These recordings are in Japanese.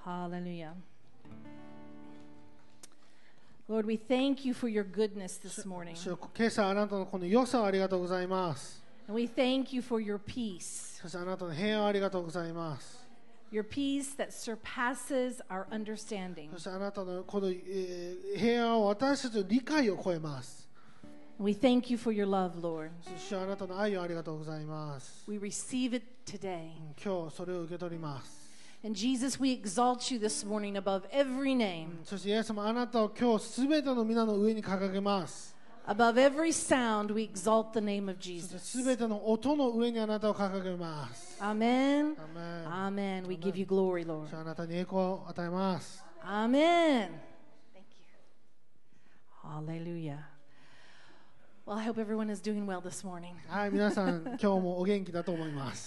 Hallelujah. Lord, we thank you for your goodness this morning. 主よ、今朝あなたのこの良さをありがとうございます。 And we thank you for your peace. そしてあなたの平安をありがとうございます。 Your peace that surpasses our understanding. そしてあなたのこの、平安を私たちの理解を超えます。 We thank you for your love, Lord. そしてあなたの愛をありがとうございます。 We receive it today. 今日それを受け取ります。 And Jesus, we exalt you this morning above every name, そしてイエス様、あなたを今日すべての皆の上に掲げます。 above every sound. We exalt the name of そして Jesus. すべての音の上にあなたを掲げます。 Amen. アーメン。 Amen. We give you glory, Lord. そしてあなたに栄光を与えます。 Amen. Thank you. Hallelujah. Well, I hope everyone is doing well this morning. はい、皆さん今日もお元気だと思います。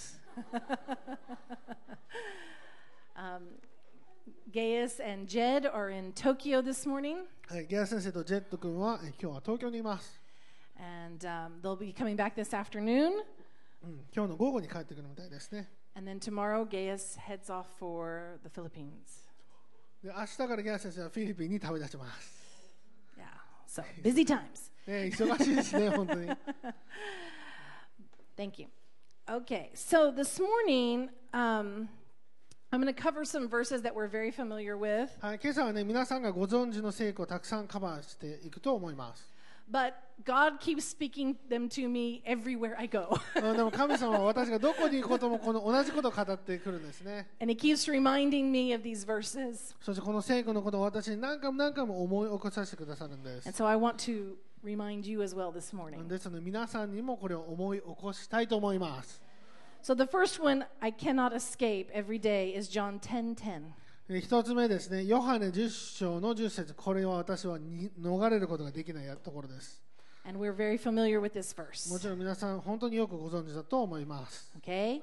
Gaius and Jed are in Tokyo this morning, はい、ゲア先生とジェット君は今日は東京にいます。 and they'll be coming back this afternoon. 今日の午後に帰ってくるみたいですね。 And then tomorrow, Gaius heads off for the Philippines. で、明日からゲア先生はフィリピンに旅立ちます。 Yeah, so busy times. 忙しいですね、本当に。 Thank you. Okay, so this morning, I'm going to cover some verses that we're very familiar with, はい、今朝はね、皆さんがご存知の聖句をたくさんカバーしていくと思います。 but God keeps speaking them to me everywhere I go. でも神様は私がどこに行くこともこの同じことを語ってくるんですね。 And He keeps reminding me of these verses. そしてこの聖句のことを私に何回も何回も思い起こさせてくださるんです。 And so I want to remind you as well this morning. ですので皆さんにもこれを思い起こしたいと思います。 So the first one I cannot escape every day is John 10:10. 一つ目ですね、ヨハネ10章の10節、これは私は逃れることができないところです。 And we're very familiar with this verse. もちろん皆さん本当によくご存知だと思います。 Okay?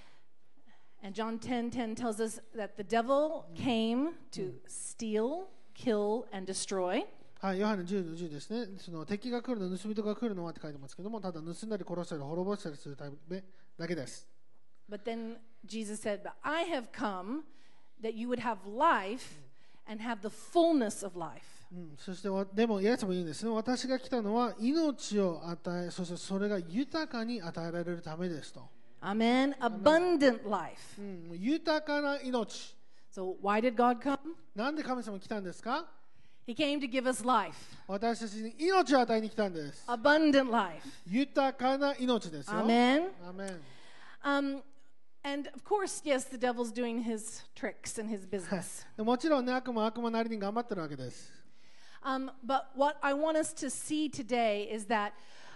And John 10:10 tells us that the devil came to steal, kill, and destroy. はい、ヨハネ10の10ですね。その敵が来るの、盗人が来るのはって書いてますけども、ただ盗んだり殺したり滅ぼしたりするためだけです。 But then Jesus said, But I have come that you would have life and have the fullness of life. そしてでもイエスも言うんですね。私が来たのは命を与え、そしてそれが豊かに与えられるためですと。 Amen. Abundant life. 豊かな命。 So why did God come? なんで神様来たんですか？ He came to give us life. 私たちに命を与えに来たんです。 Abundant life. 豊かな命ですよ。 Amen. アーメン。 And of course, yes, the devil's doing his tricks and his business. もちろんね、悪魔なりに頑張ってるわけです。 But what I want us to see today is that,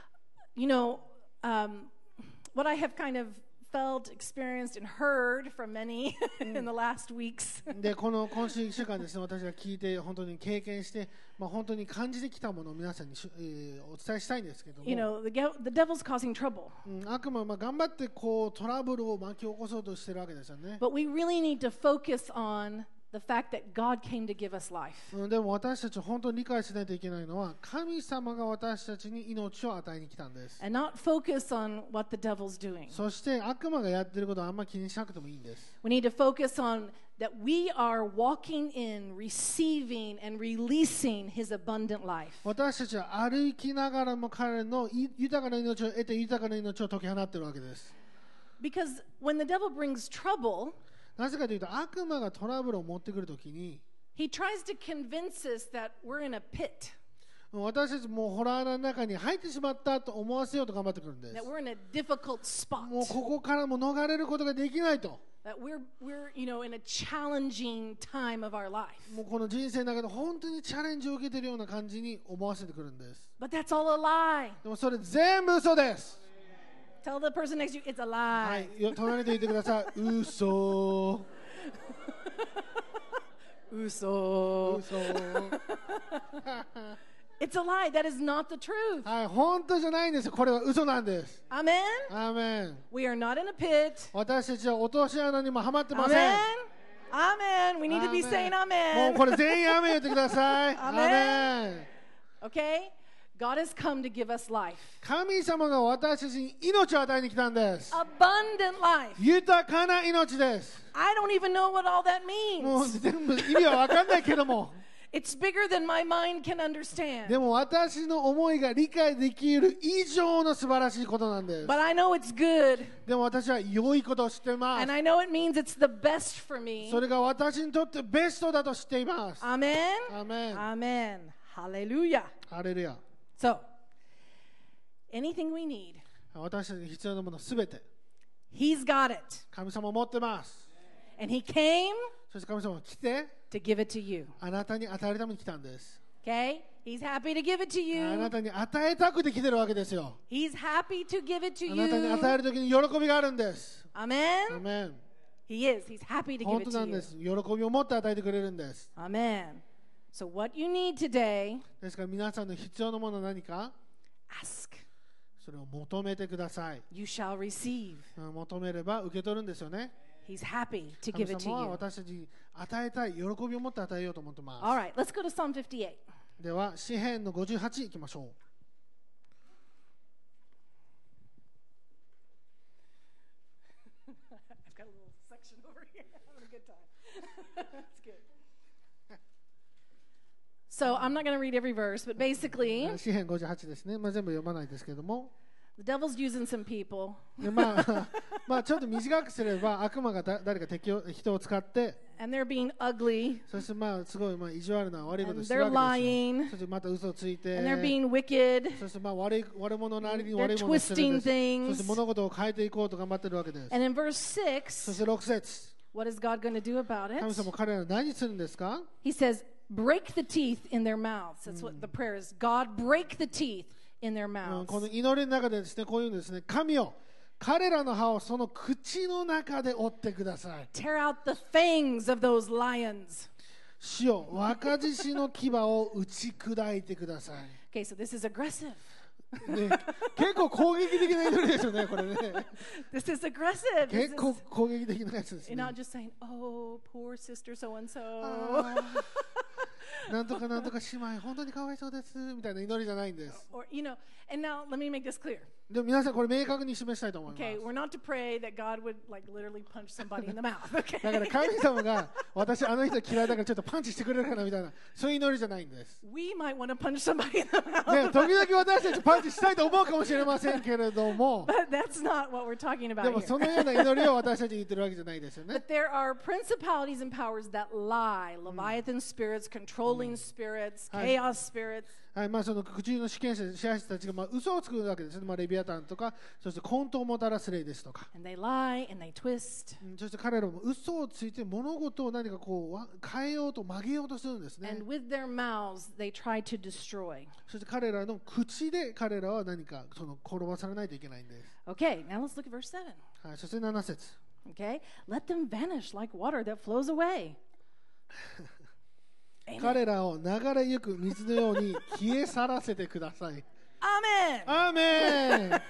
what I have kind of felt, experienced, and heard from many in the last weeks. で、今週1週間ですね、私が聞いて、本当に経験して、本当に感じてきたものを皆さんに、お伝えしたいんですけども、 the devil's causing trouble. 悪魔は頑張ってこうトラブルを巻き起こそうとしてるわけですよね。 But we really need to focus on the fact that God came to give us life. でも私たち本当に理解しないといけないのは、神様が私たちに命を与えに来たんです。 And not focus on what the devil's doing. そして悪魔がやってることはあんまり気にしなくてもいいんです。 We need to focus on that we are walking in, receiving, and releasing His abundant life. 私たちは歩きながらも彼の豊かな命を得て豊かな命を解き放っているわけです。 Because when the devil brings trouble, なぜかというと悪魔がトラブルを持ってくるときに he tries to convince us that we're in a pit, 私たちもうホラーの中に入ってしまったと思わせようと頑張ってくるんです。 that we're in a difficult spot, もうここからも逃れることができないと。 that we're in a challenging time of our life. もうこの人生の中で本当にチャレンジを受けているような感じに思わせてくるんです。 But that's all a lie. でもそれ全部嘘です。 Tell the person next to you, it's a は lie. い、隣で言ってください。嘘。 嘘。 嘘。 It's a lie. That is not the truth. はい、本当じゃないんですよ。これは嘘なんです。 Amen? アーメン。 We are not in a pit. 私たちは落とし穴にもはまってません。 Amen? Amen. We need to be saying もう amen. これ全員アーメン言ってください。アー Amen. メン。 Okay? God has come to give us life. 神様が私たちに命を与えに来たんです。 Abundant life. 豊かな命です。 I don't even know what all that もう means. 全部意味は分かんないけども。 It's bigger than my mind can understand. でも私の思いが理解できる以上の素晴らしいことなんです。 But I know it's good. でも私は良いことを知っています。 And I know it means it's the best for me. それが私にとってベストだと知っています。 Amen? アーメン。 Amen. Hallelujah. ハレルヤ。 So, anything we need, 私たちに必要なものすべて He's got it. 神様を持ってます。 And He came そして神様が来て to give it to you. あなたに与えるために来たんです。 Okay? He's happy to give it to あな you. たに与えたくて来てるわけですよ。 He's happy to give it to あなたに you. 与えるときに喜びがあるんです。ア Amen? ーメン。 He is. He's happy to give 本 it 当な to ん you. です。喜びを持って与えてくれるんです。 Amen. So, what you need today, ですから皆さんの必要なものは何か ask. それを求めてください。 You shall receive. 求めれば受け取るんですよね。 He's happy to 神 give it 様は to you. 私たちに与えたい喜びを持って与えようと思ってま All す。 right, let's go to Psalm 58. では詩編の58いきましょう。 I've got a little section over here. Having a good time. That's good. So I'm not going to read every verse, but basically, 詩編58ですね。全部読まないですけども。 the devil's using some people, でちょっと短くすれば悪魔が誰か人を使って and they're being ugly, そしてすごい意地悪な悪いことを and してる they're わけですよ。 lying, そしてまた嘘をついて and they're being wicked, そして悪者なりに they're 悪いものをしてるん twisting です。そ things. して物事を変えていこうと頑張ってるわけです。 And in verse そし 6, て6節 what is God going to do about 神 it? 様彼らは何するんですか？ He says, break the teeth in their mouths. That's what the prayer is. God, break the teeth in their この mouths. 祈りの中でですね、こういうんですね、神よ彼らの歯をその口の中で折ってください。 Tear out the fangs of those lions. 主よ若獅子の牙を打ち砕いてください。 Okay, so this is aggressive. ね、結構攻撃的な祈りですよね、これね。 This is aggressive. This 結 is, 構攻撃的なやつです you're ね。 not just saying, oh, poor sister so and so. なんとかなんとか姉妹、本当にかわいそうですみたいな祈りじゃないんです。 Or, and now let me make this clear. でも皆さん、これ明確に示したいと思います。 Okay, we're not to pray that God would like literally punch somebody in the mouth. だから Okay. 神様が私、あの人嫌いだからちょっとパンチしてくれるかなみたいな、そういう祈りじゃないんです。 We might want to punch somebody in the mouth. ね、時々私たちパンチしたいと思うかもしれませんけれども、 But that's not what we're talking で about も here. そのような祈りを私たちに言ってるわけじゃないですよね。 But there are principalities and powers that lie, Leviathan spirits, controlling spirits, chaos spirits. はい、その口の主権者、支配者たちが嘘をつくわけですね。レビアタンとか、そして混沌をもたらす霊ですとか。 And they lie and they twist. そして彼らも嘘をついて物事を何か変えようと曲げようとするんですね。 And with their mouths, they try to destroy. そして彼らの口で彼らは何か転ばされないといけないんです。 Okay, now let's look at verse 7. はい、そして7節。 Okay, let them vanish like water that flows away. Amen. 彼らを流れゆく水のように消え去らせてください。 Amen. アーメン。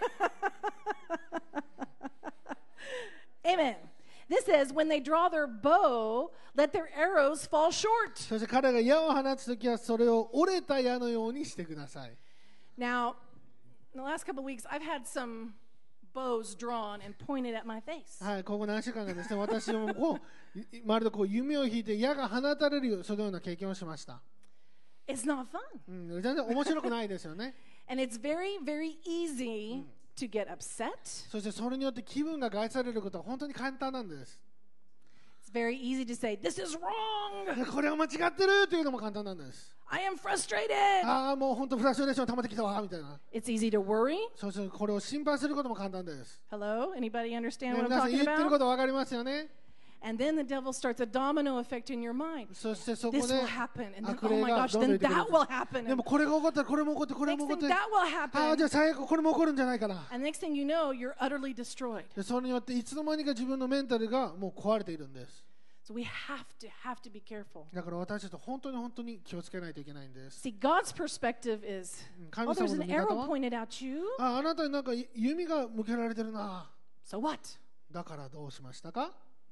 Amen. This says, when they draw their bow, let their arrows fall short. そして彼が矢を放つときはそれを折れた矢のようにしてください。 Now, in the last couple of weeks, I've had some bows drawn and pointed at my face. はい、ここ何週間かですね、私もまるで弓を引いて矢が放たれるそのような経験をしました。 It's not fun. 全然面白くないですよね。 And it's very, very easy to get upset. そしてそれによって気分が害されることは本当に簡単なんです。 It's very easy to say, this is wrong. これは間違ってるというのも簡単なんです。 I am frustrated. ああ、もう本当フラストレーション溜まってきたわみたいな。 It's easy to worry. そしてこれを心配することも簡単です。 Hello? Anybody understand ね、 what I'm 皆さん talking 言ってるこ about? と分かりますよね。 And then the devil starts a domino effect in your mind. そしてそこ This で will happen. And then, 悪 oh 霊 my が gosh, どんどん then 出てくる that will happen. でもこれが起こったらこれも起こってこれも Next 起こっ thing て that will ああじゃ happen. あ最悪これも起こるんじゃないかな。 And next thing you know, you're utterly destroyed. でそれによっていつの間にか自分のメンタルがもう壊れているんです。 So we have to be careful. だから私たち本当に気をつけないといけないんです。 See, God's perspective is, 神 oh, 様 there's の an 見方 arrow は pointed at you. あなたになんか弓が向けられてるな。 So what? だからどうしましたか？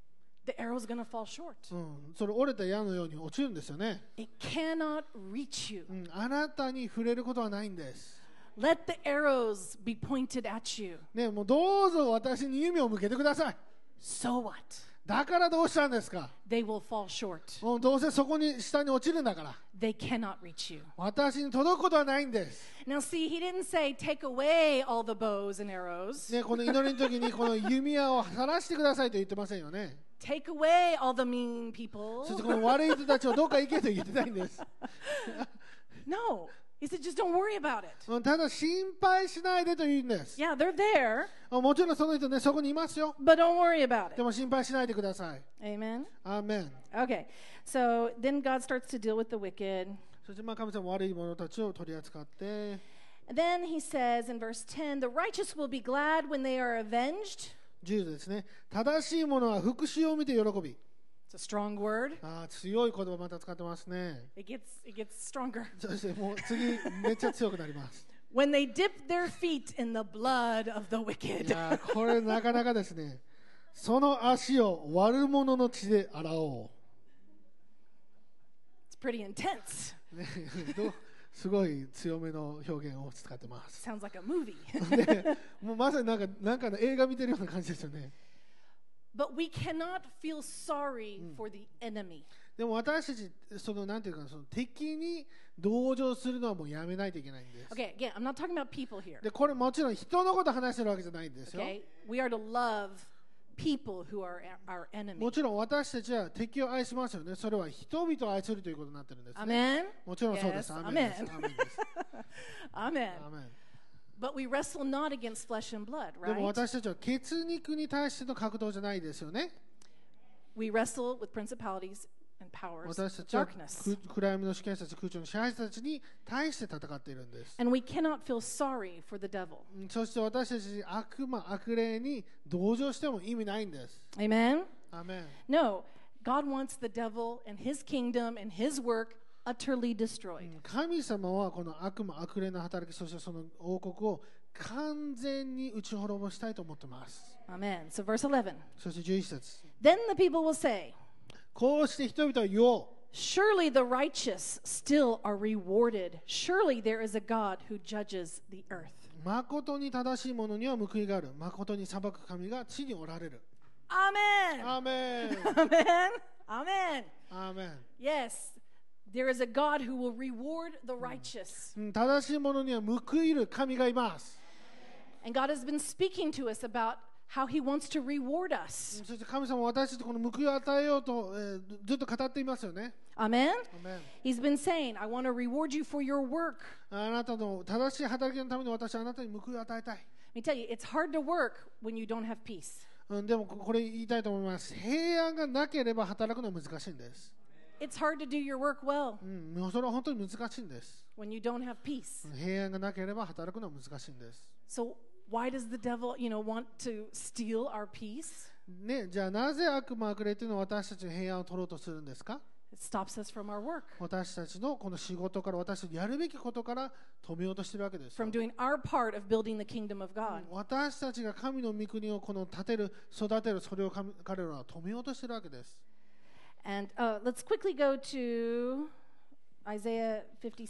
the arrow's going to fall short. それ折れた矢のように落ちるんですよね。 It cannot reach you. あなたに触れることはないんです。 Let the arrows be pointed at you. ね、もうどうぞ私に弓を向けてください。 So what? だからどうしたんですか。 They will fall short. もうどうせそこに下に落ちるんだから。 They cannot reach you. 私に届くことはないんです。 Now see, he didn't say take away all the bows and arrows. ね、この祈りの時にこの弓矢を晴らしてくださいと言ってませんよね。 Take away all the mean people. そしてこの悪い人たちをどっか行けと言ってないんです。 No. He said just don't worry about it. ただ心配しないでと言うんです。 Yeah, they're there, もちろんその人ね、そこにいますよ。 but don't worry about で it. も心配しないでください。 Amen. アーメン。 Okay. So then God starts to deal with the wicked. そして神様は悪い者たちを取り扱って、 And then he says in verse 10, the righteous will be glad when they are avenged. 10ですね。正しい者は復讐を見て喜び。 It's a strong word. 強い言葉また使ってますね。 It gets stronger. そしてもう次めっちゃ強くなります。 When they dip their feet in the blood of the い wicked. やこれなかなかですね。その足を悪者の血で洗お It's pretty intense. う。ね、すごい強めの表現を使ってます。 Sounds like a movie. でもうまさになんかの映画見てるような感じですよね。 But we cannot feel sorry for the enemy. でも私たちなんていうかその敵に同情するのはもうやめないといけないんです。 Okay, again, I'm not talking about people here. でこれもちろん人のこと話してるわけじゃないんですよ。 Okay? We are to love people who are our enemy. もちろん私たちは敵を愛しますよね。それは人々を愛するということになってるんです、ね。 Amen? もちろんそうです。 Yes. アーメンです Amen. アーメンです。 Amen. アーメン。 But we wrestle not against flesh and blood, でも right? 私たちは血肉に対しての格闘じゃないですよね。 We wrestle with principalities and powers 私た of ちは darkness. 暗闇の主権者たち、空中の支配者たちに対して戦っているんです。 And we cannot feel sorry for the devil. そして私たち悪霊に同情しても意味ないんです。 Amen? アーメン。 No. God wants the devil and his kingdom and his work utterly destroyed. 神様はこの悪霊の働き、そしてその王国を完全に打ち滅ぼしたいと思っています。 Amen. So verse 11. そして11節。 Then the people will say, こうして人々は言おう。 Surely the righteous still are rewarded. Surely there is a God who judges the earth. 誠に正しい者には報いがある。誠に裁く神が地におられる。 Amen. アーメン。 Amen. Amen. アーメン。 Yes. There is a God who will reward the righteous. 正しい者には報いる神がいます。 And God has been speaking to us about how he wants to reward us. そして神様は私たちこの報いを与えようと、ずっと語っていますよね。 Amen. アーメン。 He's been saying, I want to reward you for your work. あなたの正しい働きのために私はあなたに報いを与えたい。 Let me tell you, it's hard to work when you don't have peace. でもこれ言いたいと思います。平安がなければ働くのは難しいんです。 It's hard to do your work well もうそれは本当に難しいんです。 when you don't have peace. 平安がなければ働くのは難しいんです。 So why does the devil, want to steal our peace? ね、じゃあなぜ悪霊というのは私たちの平安を取ろうとするんですか。 It stops us from our work, 私たちのこの仕事から私たちやるべきことから止めようとしているわけですよ。 from doing our part of building the kingdom of God. 私たちが神の御国をこの建てる育てるそれを彼らは止めようとしているわけです。 And let's quickly go to Isaiah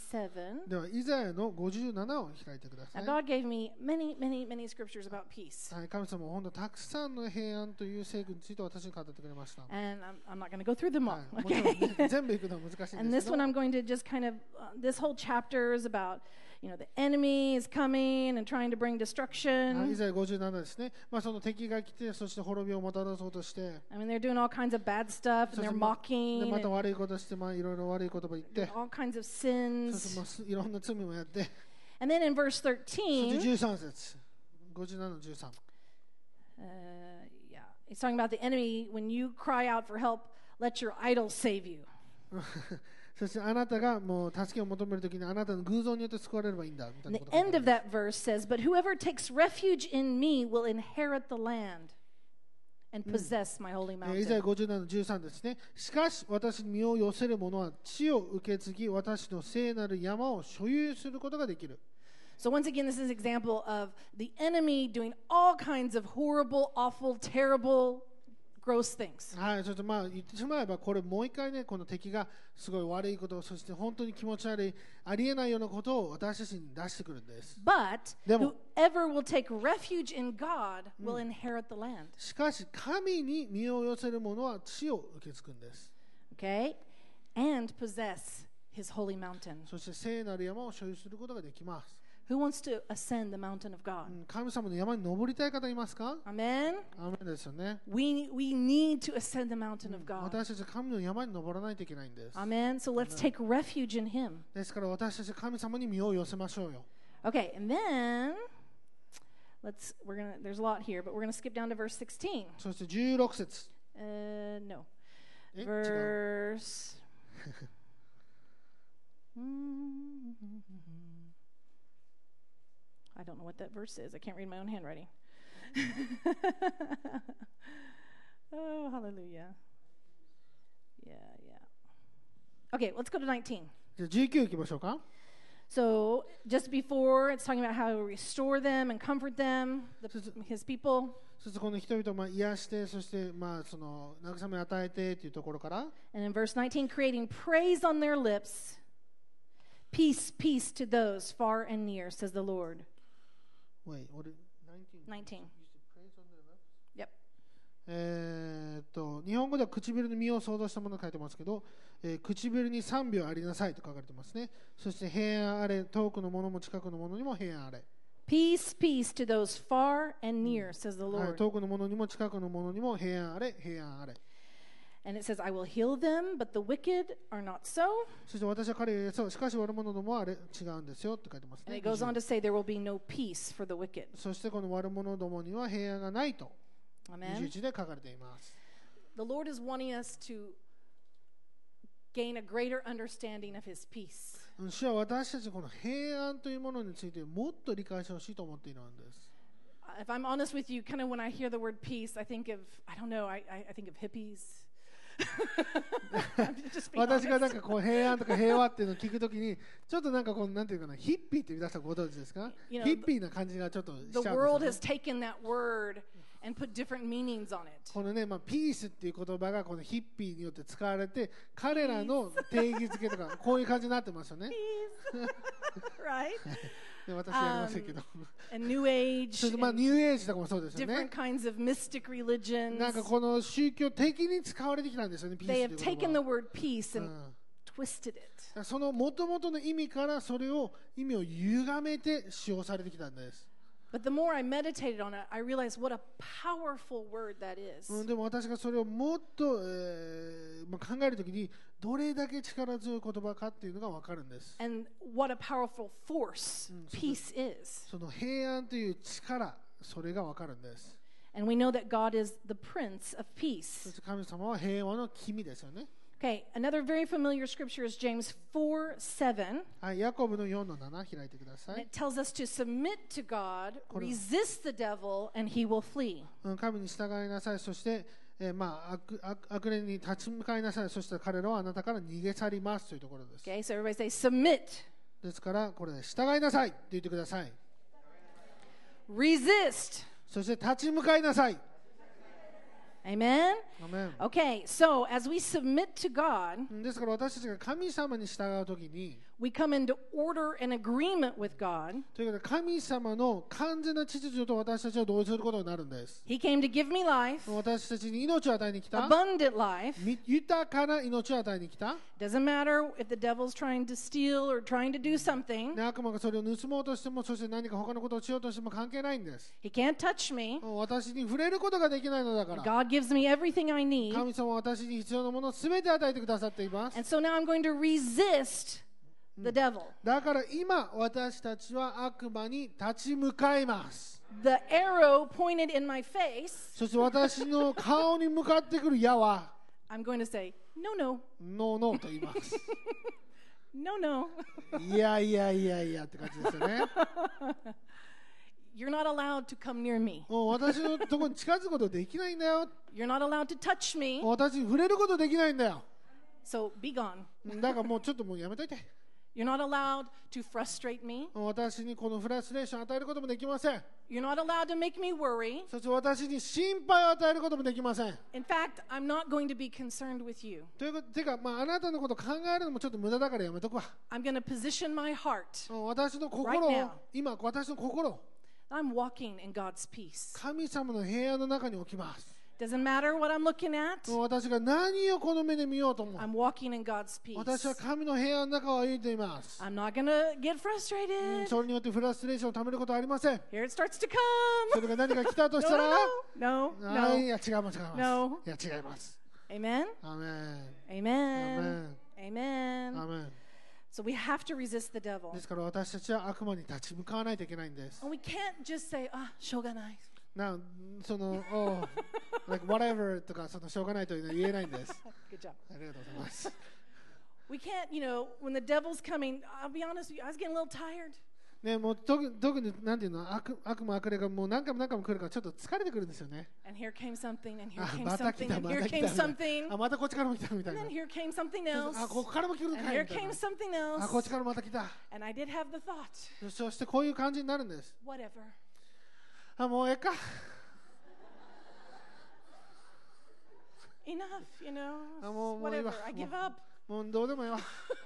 57. ではイザヤの57を開いてくださ Now い。 God gave me many, many, many scriptures about peace. はい、神様は本当たくさんの平安という聖句について私に語ってくれました。 And I'm not going to go through them は all. い、もちろん、ね、 Okay? 全部いくのは難しいん And です this け one ど I'm going to just kind of, this whole chapter is about, the enemy is coming and trying to bring イ destruction. ザヤ57ですね。その敵が来て、そして滅びをもたらそうとして、 I mean, they're doing all kinds of bad stuff and they're で mocking また and 悪いことして、いろいろ悪い言葉言って、 all kinds of そして sins. いろんな罪もやって、 And then in verse そして 13, 13節、57の13。 yeah, he's talking about the enemy. When you cry out for help, let your idols save you. そしてあなたがもう助けを求めるときにあなたの偶像によって救われればいいんだみたい And な the ことが書いて end あ of ります。 that verse says, But whoever takes refuge in me will inherit the land and possess my holy イザヤ mountain. 57の13ですね。しかし私に身を寄せる者は地を受け継ぎ私の聖なる山を所有することができる。 So once again, this is an example of the enemy doing all kinds of horrible, awful, terrible, gross things. はい、ちょっとまあ言ってしまえば、これもう一回ね、この敵がすごい悪いこと、そして本当に気持ち悪い、ありえないようなことを私たちに出してくるんです。 But でも、 whoever will take refuge in God will inherit the land. しかし神に身を寄せる者は地を受け継ぐんです。 Okay? And possess his holy mountain. そして聖なる山を所有することができます。 Who wants to ascend the mountain of God? 神様の山に登りたい方いますか？ Amen? アーメンですよね。 We need to ascend the mountain of God. 私たちは神の山に登らないといけないんです。 Amen? So let's take refuge in him. ですから私たちは神様に身を寄せましょうよ。 Okay, and then there's a lot here, but we're gonna skip down to verse 16. そして16節。 No. 違う。 Verse I don't know what that verse is. I can't read my own handwriting. Oh, hallelujah. Yeah. Okay, let's go to 19. じゃあ19いきましょうか。 So, just before, it's talking about how to restore them and comfort them, his people. そしてこの人々をまあ癒して、そしてまあその慰めを与えてというところから、 And in verse 19, creating praise on their lips, peace, peace to those far and near, says the Lord. Wait, what is 19. Yep. 日本語では唇に身を想像したものを書いてますけど、唇に賛美をありなさいと書かれてますね。そして平安あれ、遠くのものも近くのものにも平安あれ。 Peace, peace to those far and near, says the はい、 Lord. 遠くのものにも近くのものにも平安あれ、平安あれ。 And it says, I will heal them, but the wicked are not so. そして私は彼を癒そう。しかし悪者どもはあれ違うんですよって書いてます And ね。 it goes on to say, there will be no peace for the wicked. そしてこの悪者どもには平安がないと Amen. 21で書かれています。 The Lord is wanting us to gain a greater understanding of his peace. 主は私たちこの平安というものについてもっと理解してほしいと思っているんです。 If I'm honest with you, kind of when I hear the word peace, I think of, I don't know, I think of hippies. Just being 私がなん honest. かこう平安とか平和っていうのを聞くときにちょっとなんかこうなんていうかなヒッピーって皆さんご存知ですか？ You know, ヒッピーな感じがちょっとしち The ゃうん world です has よね。 taken that word and put different meanings on it. このね、まあ、ピースっていう言葉がこのヒッピーによって使われて彼らの定義づけとかこういう感じになってますよね。 Peace. Right? で私やりませんけど。 And New Age, それでまあ and ニューエイジとかもそうですよ different ね。 kinds of mystic religions. なんかこの宗教的に使われてきたんですよね。ピース They と have いう言 taken the 葉 word peace は。 and twisted it. その元々の意味からそれを意味を歪めて使用されてきたんです。 But the more I meditated on it, I realized what a powerful word that is. でも私がそれをもっと、まあ、考えるときにどれだけ力強い言葉かっていうのが分かるんです。 And what a powerful force peace is. その平安という力、それが分かるんです。 And we know that God is the Prince of そ Peace. して神様は平和の君ですよね。 Okay, another very familiar scripture is James 4:7. はい、ヤコブの4の7開いてくださ And い。 it tells us to submit to God, resist the devil, and he will flee. 神に従いなさい、そして、まあ、悪霊に立ち向かいなさい、そして彼らはあなたから逃げ去りますというところです。 Okay, so everybody say submit, ですから、これで従いなさいって言ってください。 resist. そして立ち向かいなさい。 Amen? アメン Okay, so as we submit to God, ですから私たちが神様に従うときに、 we come into order and agreement with God. ということで神様の完全な秩序と私たちは同意することになるんです。 He came to give me life, 私たちに命を与えに来た、 abundant life. 豊かな命を与えに来た。 Doesn't matter if the devil's trying to steal or trying to do something. 悪魔がそれを盗もうとしても、そして何か他のことをしようとしても関係ないんです。 He can't touch me. 私に触れることができないのだから。 God gives me everything I need. 神様は私に必要なものを全て与えてくださっています。 And so now I'm going to resist the devil. だから今私たちは悪魔に立ち向かいます。 The arrow pointed in my face, そして私の顔に向かってくる矢は I'm going to say, no, no, ノーノーと言います。 no, no. いやいやいやいやって感じですよね。 You're not allowed to come near me. もう私のところに近づくことできないんだよ。 You're not allowed to touch me. 私に触れることできないんだよ。 So be gone. だからもうちょっともうやめといて。 You're not allowed to frustrate me. 私にこのフラストレーションを与えることもできません。 You're not allowed to make me worry. そして私に心配を与えることもできません。 In fact, I'm not going to be concerned with you. ということてか、あなたのことを考えるのもちょっと無駄だからやめとくわ。 I'm going to position my heart. 私の心 Right を now. 今私の心を I'm walking in God's peace. 神様の平安の中に置きます。 Doesn't matter what I'm looking at. 私が何をこの目で見ようとも I'm walking in God's peace. 私は神の平安の中を歩いています。 I'm not going to get frustrated. それによってフラストレーションをためることはありません。 Here it starts to そ come. れが何か来たと No, したら no, no, はい、い no. や違います違います。 No. いや違います。 Amen? アーメン。 Amen. Amen. アーメン。 So we have to resist the devil. ですから私たちは悪魔に立ち向かわないといけないんです。 And we can't just say,しょうがない。 その、like whatever とかそのしょうがないというのは言えないんです。 Good job. ありがとうございます。 We can't, when the devil's coming, I'll be honest with you, I was getting a little tired. ね、もう特になんていうの悪魔悪霊がもう何回も来るからちょっと疲れてくるんですよね。 And here came something, and here あ came また来 something, た and ま here た来 came た something, あまたこっちからも来たみたい and な then here came something あ else, ここからも来るの and かい here みたい came な something あこっ else. ちからまた来た And I did have the thought, そしてこういう感じになるんです。 whatever. あもうええか Enough, あもういい whatever. わ I give up. もうどうでもいいわ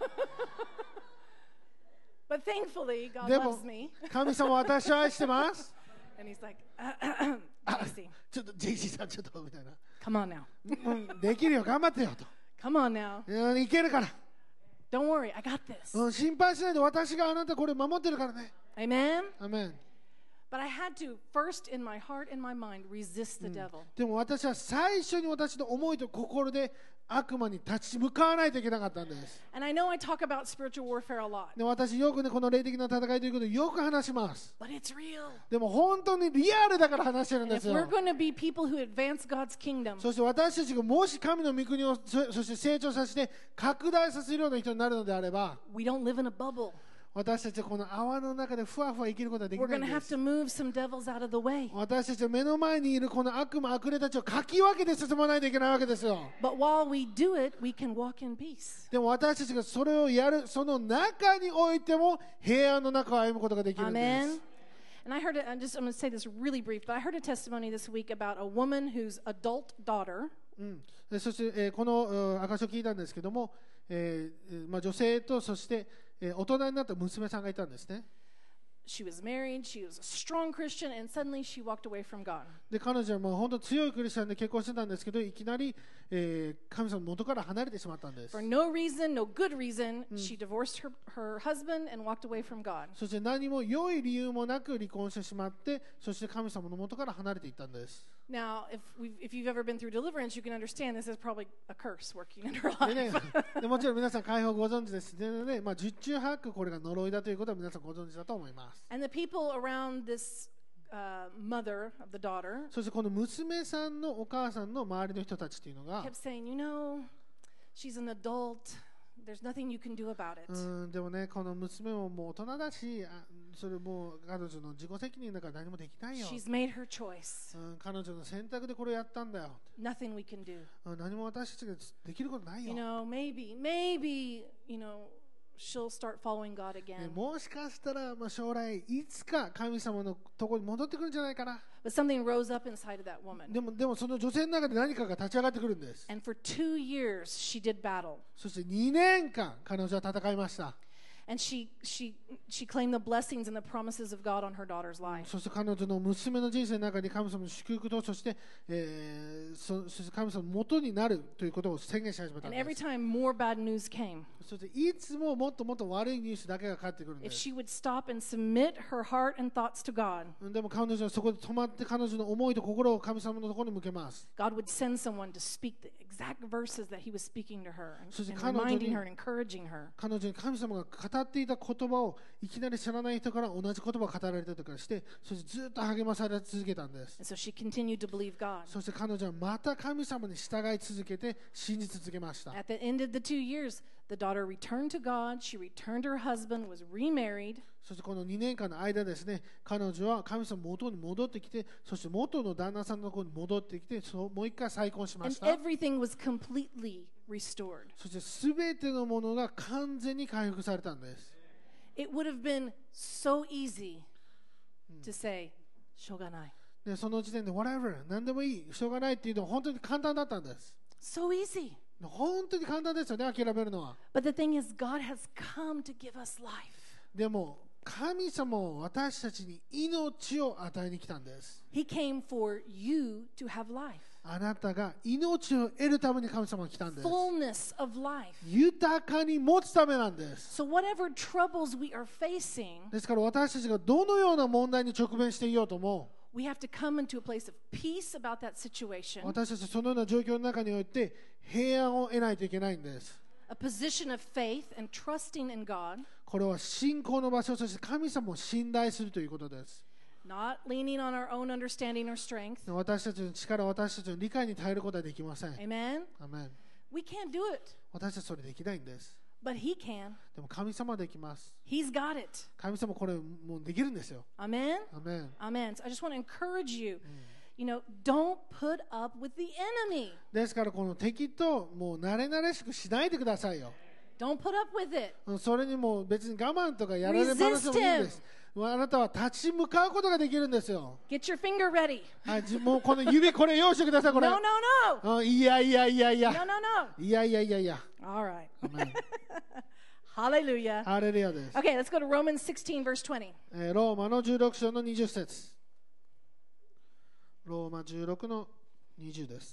But thankfully, God でも loves me. 神様私を愛してます And he's like, あ JC, ちょっと JC さんちょっとみたいな come on now. できるよ頑張ってよと Come on now. いけるから Don't worry, I got this. 心配しないで私があなたこれ守ってるからね Amen? アメン But I had to first, in my heart and my mind, resist the devil. でも私は最初に私の思いと心で悪魔に立ち向かわないといけなかったんです。 And I know I talk about spiritual warfare a lot, で私よくねこの霊的な戦いということをよく話します。 but it's real. でも本当にリアルだから話してるん And で if す we're よ。 going to be people who advance God's kingdom, そして私たちがもし神の御国をそして成長させて拡大させるような人になるのであれば we don't live in a bubble. 私たちはこの泡の中でふわふわ生きることはでき We're ない going ん to で have す to move some devils out of the way. 私たちは目の前にいるこの悪魔悪霊たちをかき分けて進まないといけないわけですよ。 But while we do it, we can walk in peace. でも私たちがそれをやるその中においても平安の中を歩むことができるんです。 Amen. And I heard it, I'm going to say this really brief, but I heard a testimony this week about a woman whose adult daughter でそして、この証を聞いたんですけども、女性とそして、大人になった娘さんがいたんですね。 she was married, she was a strong Christian, and suddenly she walked away from God. で彼女はもう本当強いクリスチャンで結婚してたんですけどいきなり、神様の元から離れてしまったんです。 For no reason, no good reason, she divorced her husband and walked away from God. そして何も良い理由もなく離婚してしまってそして神様の元から離れていったんです。 Now, if you've ever been through deliverance, you can understand this is probably a curse working in her でね life. でもちろん皆さん解放ご存知ですでね、十中八九これが呪いだということは皆さんご存知だと思います。 And the people around this mother of the daughter そしてこの娘さんのお母さんの周りの人たちっていうのが kept saying, she's an adult. There's nothing you can do about it. でもねこの娘ももう大人だしそれもう彼女の自己責任だから何もできないよ、 She's made her choice. 彼女の選択でこれをやったんだよ、 Nothing we can do. 何も私たちができることないよ、 Maybe, she'll start following God ね again. もしかしたら、将来いつか神様のところに戻ってくるんじゃないかな。 But something rose up inside of that woman. でもその女性の中で何かが立ち上がってくるんです。 And for 2 years, she did battle. そして2年間彼女は戦いました。 And she claimed the blessings and the promises of God on her daughter's life. そして彼女の娘の人生の中に神様の祝福とそして、そして神様の元になるということを宣言し始めたん And で every す。 time more bad news came, そしていつももっともっと悪いニュースだけが返ってくるんで if す。 she would stop and submit her heart and thoughts to God, でも彼女はそこで止まって彼女の思いと心を神様のところに向けます。 God would send someone to speak the exact verses that He was speaking to her and, そして and 彼女に reminding her and encouraging her. 彼女に神様が語っていた言葉をいきなり知らない人から同じ言葉を語られたりとかしてそしてずっと励まされ続けたんです。 And so she continued to believe God. そして彼女はまた神様に従い続けて信じ続けました。 At the end of the 2 years, the daughter returned to God. She returned to her husband, was remarried. そしてこの2年間の間ですね彼女は神様の元に戻ってきてそして元の旦那さんのところに戻ってきてもう一回再婚しまし And た。 everything was completely restored. そしてすべてのものが完全に回復されたんです。 It would have been so easy to say, しょうがない。 でその時点で whatever 何でもいいしょうがないっていうのは本当に簡単だったんです。 So easy. 本当に簡単ですよね、諦めるのは。 But the thing is, God has come to give us life. でも神様は私たちに命を与えに来たんです。 He came for you to have life. あなたが命を得るために神様が来たんです。 Fullness of life. 豊かに持つためなんです。 So whatever troubles we are facing, ですから私たちがどのような問題に直面していようとも、 we have to come into a place of peace about that situation, 私たちそのような状況の中において平安を得ないといけないんです。 a position of faith and trusting in God, これは信仰の場所、そして神様を信頼するということです。 not leaning on our own understanding or strength. 私たちの力、私たちの理解に頼ることはできません。 Amen? アメン。 We can't do it, 私たちそれできないんです。 but He can. でも神様はできます。 He's got it. 神様これもうできるんですよ。 Amen? アメン。 Amen. So I just want to encourage you, don't put up with the enemy. ですからこの敵ともう慣れ慣れしくしないでくださいよ。 Don't put up with it. それにもう別に我慢とかやられっぱなしでもいいんです。あなたは立ち向かうことができるんですよ。 Get your finger ready. はい、もうこの指これ用意してください、これ。 No, no, no. いやいやいやい No, や。 no, no. いやいやいやいや。 All right. アメン。 Hallelujah. ハレルヤです。 Okay, let's go to Romans 16, verse 20. ローマの16章の20節。ローマ16の20です。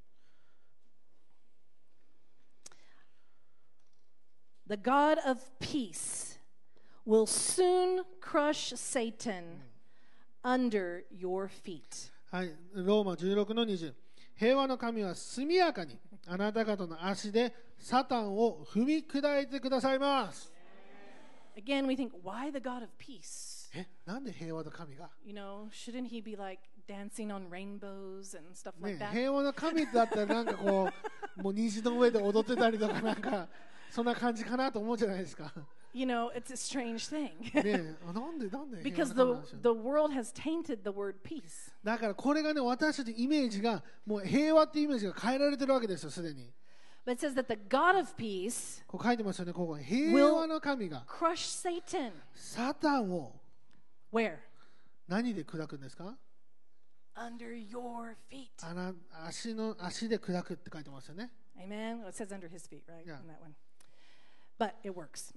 The God of peace will soon crush Satan under your feet. はい、ローマ16の20。平和の神は速やかにあなた方の足でサタンを踏み砕いてくださいます。 Again, we think, why the God of peace? なんで平和の神が、 Shouldn't he be like dancing on rainbows and stuff ね like that? 平和の神だったらなんかこうもう虹の上で踊ってたりとかなんかそんな感じかなと思うじゃないですか。 It's a strange thing. ねなんで平和 Because の神なんでしょう。 the world has tainted the word peace. だからこれがね、私たちのイメージがもう平和っていうイメージが変えられてるわけですよ、すでに。 But it says that the God of peace こう書いてますよね、ここに。平和の神が crush Satan. サタンを Where? 何で砕くんですか？ Under your feet. 足で砕くって書いてますよね。 Amen. Well, it says under his feet, right? Yeah. In that one. But it works.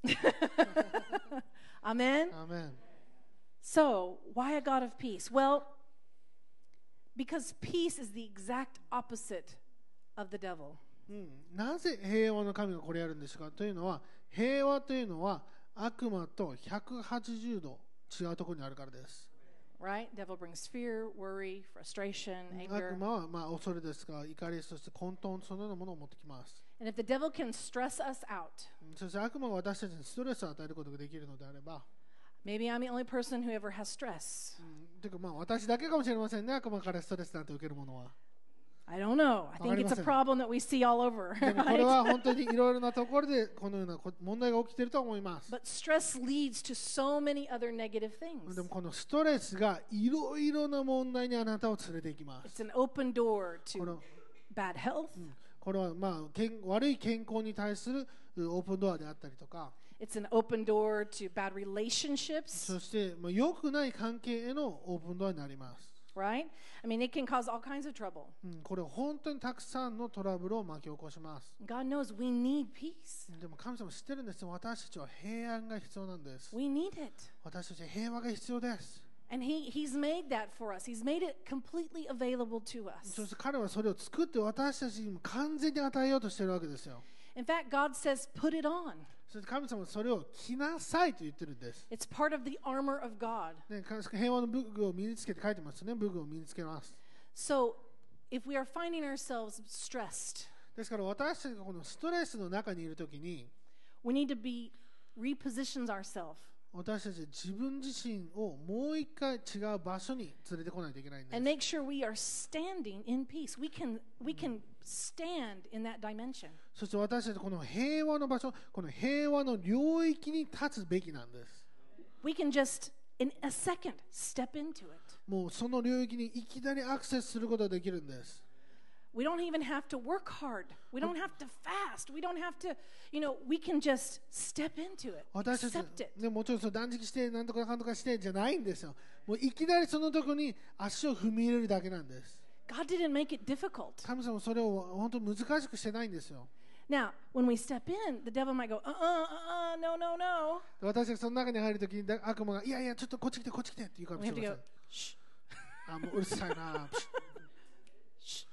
Amen. アーメン。 So, why a God of peace? Well, because peace is the exact opposite of the devil. なぜ平和の神がこれやるんですかというのは、平和というのは悪魔と180度違うところにあるからです。 Right? Devil brings fear, worry, frustration, 悪 anger. 魔は恐れですが、怒り、そして混沌、そのようなものを持ってきます。 And if the devil can stress us out, そして悪魔が私たちにストレスを与えることができるのであれば、 maybe I'm the only person who ever has stress. というか私だけかもしれませんね、悪魔からストレスなんて受けるものは。 I don't know. I think it's a problem that we see all over. でもこれ Right? は本当にいろいろなところでこのような問題が起きていると思います。 But stress leads to so many other negative things. でもこのストレスがいろいろな問題にあなたを連れて行きます。 It's an open door こ to の bad health. これは悪い健康に対するオープンドアであったりとか、 It's an open door to bad relationships, そして良くない関係へのオープンドアになります。 right? I mean, it can cause all kinds of trouble. これは本当にたくさんのトラブルを巻き起こします。 God knows we need peace. でも神様知ってるんですよ。私たちは平安が必要なんです。 We need it. 私たちは平和が必要です。 And He's made that for us. He's made it completely available to そ us. して彼はそれを作って私たちにも完全に与えようとしているわけですよ。 In fact, God says, put it on. そして神様はそれを着なさいと言ってるんです。 It's part of the armor of God. ね、平和の武具を身につけて書いてますね。武具を身につけます。 So, if we are finding ourselves stressed, ですから私たちがこのストレスの中にいるときに、 we need to repositions ourselves 私たちは自分自身をもう一回違う場所に連れてこないといけないんです。 and make sure we are standing in peace. We can stand in that dimension. そして私たちこの平和の場所、この平和の領域に立つべきなんです。 We can just, in a second, step into it. もうその領域にいきなりアクセスすることができるんです。 We don't even have to work hard. We don't have to fast. We don't have to, we can just step into it. 私たち Accept it. ね、もちろん断食してなんとかかんとかしてじゃないんですよ。もういきなりそのとこに足を踏み入れるだけなんです。 God didn't make it difficult. 神様はそれを本当に難しくしてないんですよ。 Now, when we step in, the devil might go, no, no, no. 私がその中に入るときに悪魔がいやいやちょっとこっち来てこっち来てって言うかも We し have れ to ま go, せん。 shh, あ、もううるさいな。 shh.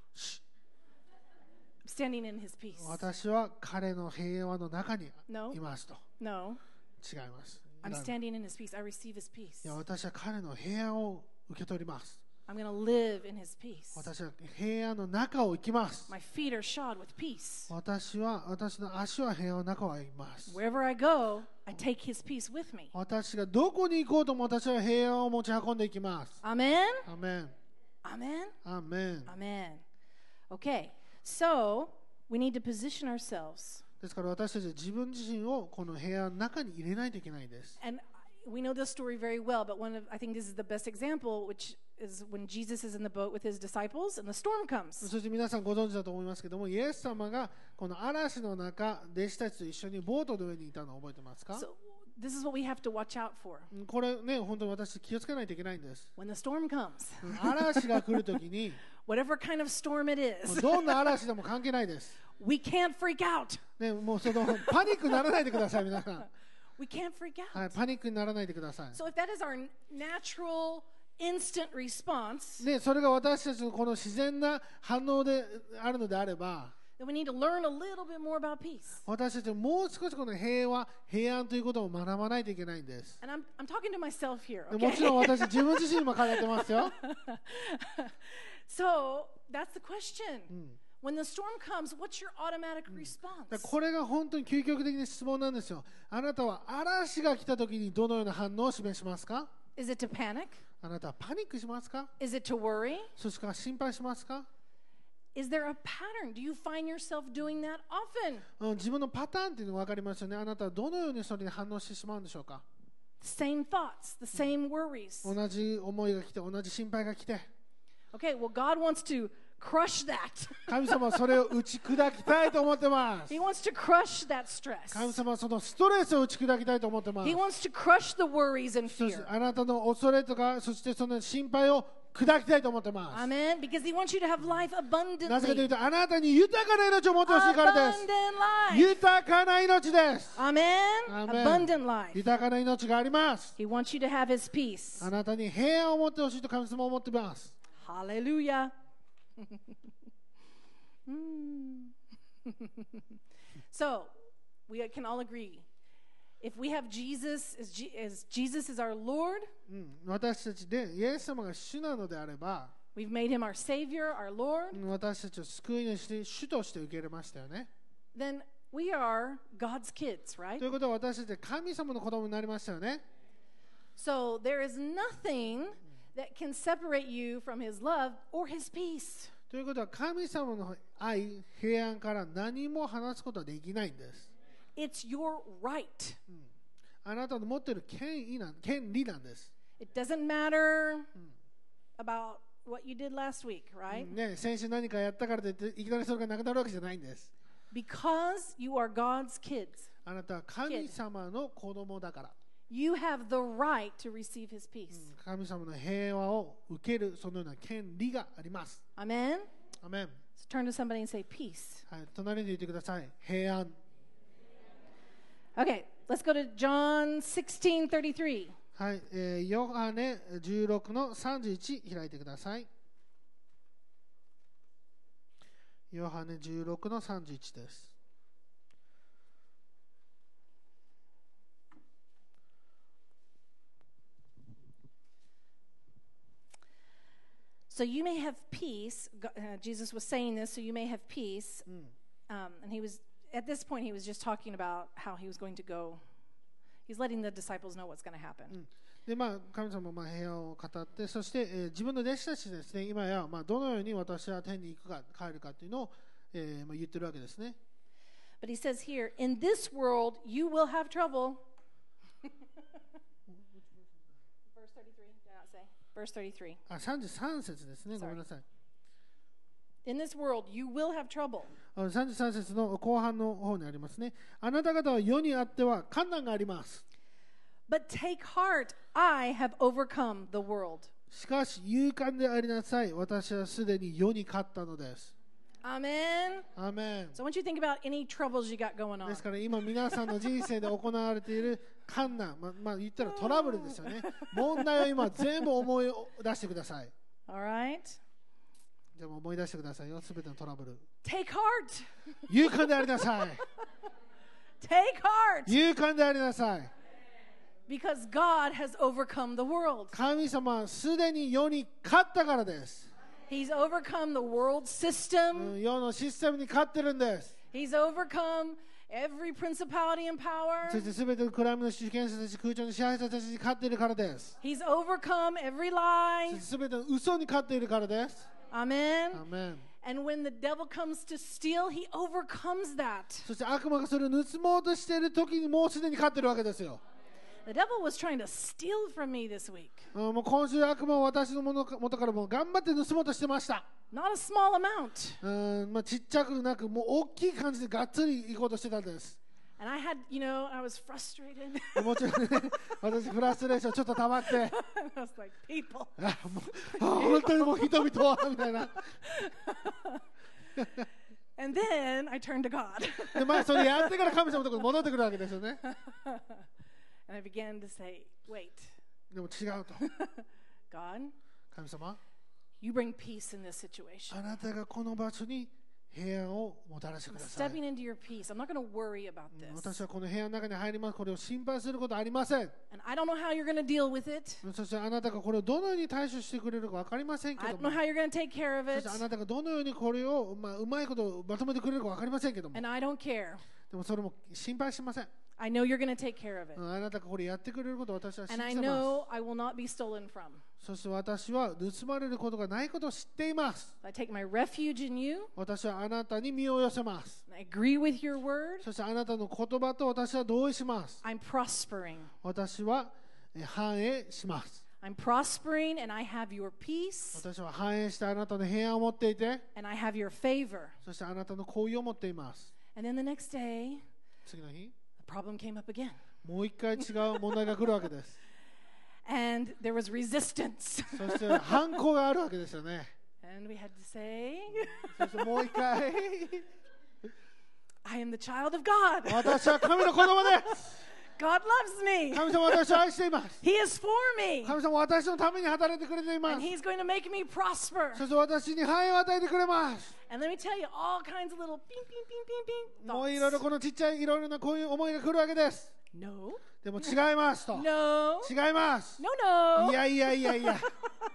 Standing in his peace. 私は彼の平和の中に No. いますと。 No, 違います。 I'm い standing in his peace. I receive his peace. や私は彼の平和を受け取ります。 I'm going to live in his peace. 私は平安の中を行きます。 My feet are shod with peace. 私の足は平安の中を行きます。 Wherever I go, I take his peace with me. 私がどこに行こうとも私は平安を持ち運んでいきます。 Amen? アメン。 Amen? アメン。 Amen. Okay, so we need to position ourselves. ですから私たちは自分自身をこの平安の中に入れないといけないんです。 And we know this story very well, but I think this is the best example, which is when Jesus is in the boat with his disciples and the storm comes. そして皆さんご存知だと思いますけども、イエス様がこの嵐の中、弟子たちと一緒にボートの上にいたのを覚えてますか？ So this is what we have to watch out for. これね、本当に私気をつけないといけないんです。 When the storm comes, 嵐が来るときに、 whatever kind of storm it もう is, どんな嵐でも関係ないです。 we can't freak out. ね、もうそのパニックにならないでください、皆さん。 We can't freak out. はい、パニックにならないでください。 So if that is our natural, instant response, ね、それが私たちのこの自然な反応であるのであれば、 then we need to learn a little bit more about peace. 私たちはもう少しこの平和、平安ということを学ばないといけないんです。 And I'm talking to myself here, も okay? ちろん私自分自身も考えてますよ。 So that's the question. When the storm comes, what's your automatic だから response? これが本当に究極的な質問なんですよ。あなたは嵐が来た時にどのような反応を示しますか？ Is it to panic? あなたはパニックしますか？ Is it to worry? そして心配しますか？ Is there a pattern? Do you find yourself doing that often? 自分のパターンっていうのが分かりますよね。あなたはどのようにそれに反応してしまうんでしょうか？ The same thoughts, the same worries. 同じ思いが来て、同じ心配が来て、 Okay, well, God wants to crush that. 神様はそれを打ち砕きたいと思ってます。 He wants to crush that stress. 神様はそのストレスを打ち砕きたいと思ってます。 He wants to crush the worries and そして fear. あなたの恐れとか、そしてその心配を砕きたいと思ってます。 Amen. Because He wants you to have life なぜかという abundantly. と、あなたに豊かな命を持ってほしいからです。 Abundant life. 豊かな命です。 Amen. Amen. Abundant life. 豊かな命があります。 He wants you to have His peace. あなたに平安を持ってほしいと神様は思っています。 Hallelujah. Mm. So, we can all agree. If we have Jesus, as Jesus is our Lord, 私たちでイエス様が主なのであれば、 we've made Him our Savior, our Lord, 私たちを救い主で主として受け入れましたよね。 then we are God's kids, right? ということは私たちは神様の子供になりましたよね。 So there is nothing that can separate you from His love or His peace. ということは神様の愛、平安から何も離すことはできないんです。 It's your right. あなたの持っている権利なんです。 It doesn't matter about what you did last week, right? ね、先週何かやったからといっていきなりそれがなくなるわけじゃないんです。 Because you are God's kids, あなたは神様の子供だから。 you have the right to receive His peace. 神様の平和を受けるそのような権利があります。 Amen? アメン。 So turn to somebody and say, peace. はい、隣に言ってください。平安。 Okay, let's go to John 16:33. はい、ヨハネ16の31開いてください。ヨハネ16の31です。 So you may have peace. Jesus was saying this, so you may have peace. And he was, at this point, he was just talking about how he was going to go. He's letting the disciples know what's going to happen. で神様は平和を語って、そして、自分の弟子たちですね、今や、どのように私は天に行くか帰るかというのを、言ってるわけですね。 But he says here, in this world, you will have trouble. Verse 33, did I not say? Verse 33. 33節ですね、ごめんなさい。 In this world, you will have trouble. 33節の後半の方にありますね。あなた方は世にあっては困難があります。 But take heart, I have overcome the world. しかし勇敢でありなさい。私はすでに世に勝ったのです。 Amen. アーメン。 So I want you to think about any troubles you got going on. ですから今皆さんの人生で行われている困難、言ったらトラブルですよね。問題を今全部思い出してください。 All right? じゃあ思い出してくださいよ、すべてのトラブル。 Take heart. 勇敢でありなさい。 Take heart. 勇敢でありなさい。 Because God has overcome the world. 神様はすでに世に勝ったからです。 He's overcome the world system. 世のシステムに勝ってるんです。 He's overcome every principality and power. そしてすべてのクライムの主権者たち、空中の支配者たちに勝っているからです。 He's overcome every そ lie. してすべての嘘に勝っているからです。 Amen. アーメン。 And when the devil comes to steal, he overcomes that. そして悪魔がそれを盗もうとしている時にもうすでに勝っているわけですよ。 The devil was trying to steal from me this week. もう今週悪魔は私の元からもう頑張って盗もうとしてました。 Not a small amount. ちっちゃくなくもう大きい感じでがっつり行こうとしてたんです。 And I had, I was frustrated. もちろんね、私フラストレーションちょっと溜まって、 I was like, people. 本当にもう人々はみたいな。 And then I turned to God. でそれやってから神様のところに戻ってくるわけですよね。 And I began to say, wait, でも違うと。 God, 神様、 you bring peace in this situation. あなたがこの場所に平安をもたらしてく I'm ださい。 stepping into your peace. I'm not going to worry about this. 私はこの部屋の中に入ります。これを心配することはありません。 And I don't know how you're going to deal with it. そしてあなたがこれをどのように対処してくれるか分かりませんけ I ど don't も、 know how you're going to take care of そ it. してあなたがどのようにこれを、うまいことまとめてくれるか分かりませんけども、 And I don't care. でもそれも心配しません。 I know you're going to take care of it. あなたがこれやってくれることを私は信 And I じてます。 know I will not be stolen from. そして私は盗まれることがないことを知っています。 I take my refuge in you. 私はあなたに身を寄せます。 I agree with your word. そしてあなたの言葉と私は同意します。 I'm prospering. 私は繁栄します。 I'm prospering and I have your peace 私は繁栄してあなたの平安を持っていて、 and I have your favor. そしてあなたの好意を持っています。 And then the next day, 次の日、 the problem came up again. もう一回違う問題が来るわけです。 And there was resistance. そして反抗があるわけですよね。 And we had to say, そしてもう一回、 I am the child of God. 私は神の子供です。 God loves me. 神様は私を愛しています。 He is for me. 神様は私のために働いてくれていま And す。 He's going to make me prosper. そして私に繁栄を与えてくれます。 And let me tell you, all kinds of little ping, ping, ping, ping, ping もういろいろ thoughts. このちっちゃいいろいろなこういう思いが来るわけです。 No, でも違いますと。 no, 違います。 no, い no. やいやいやいや。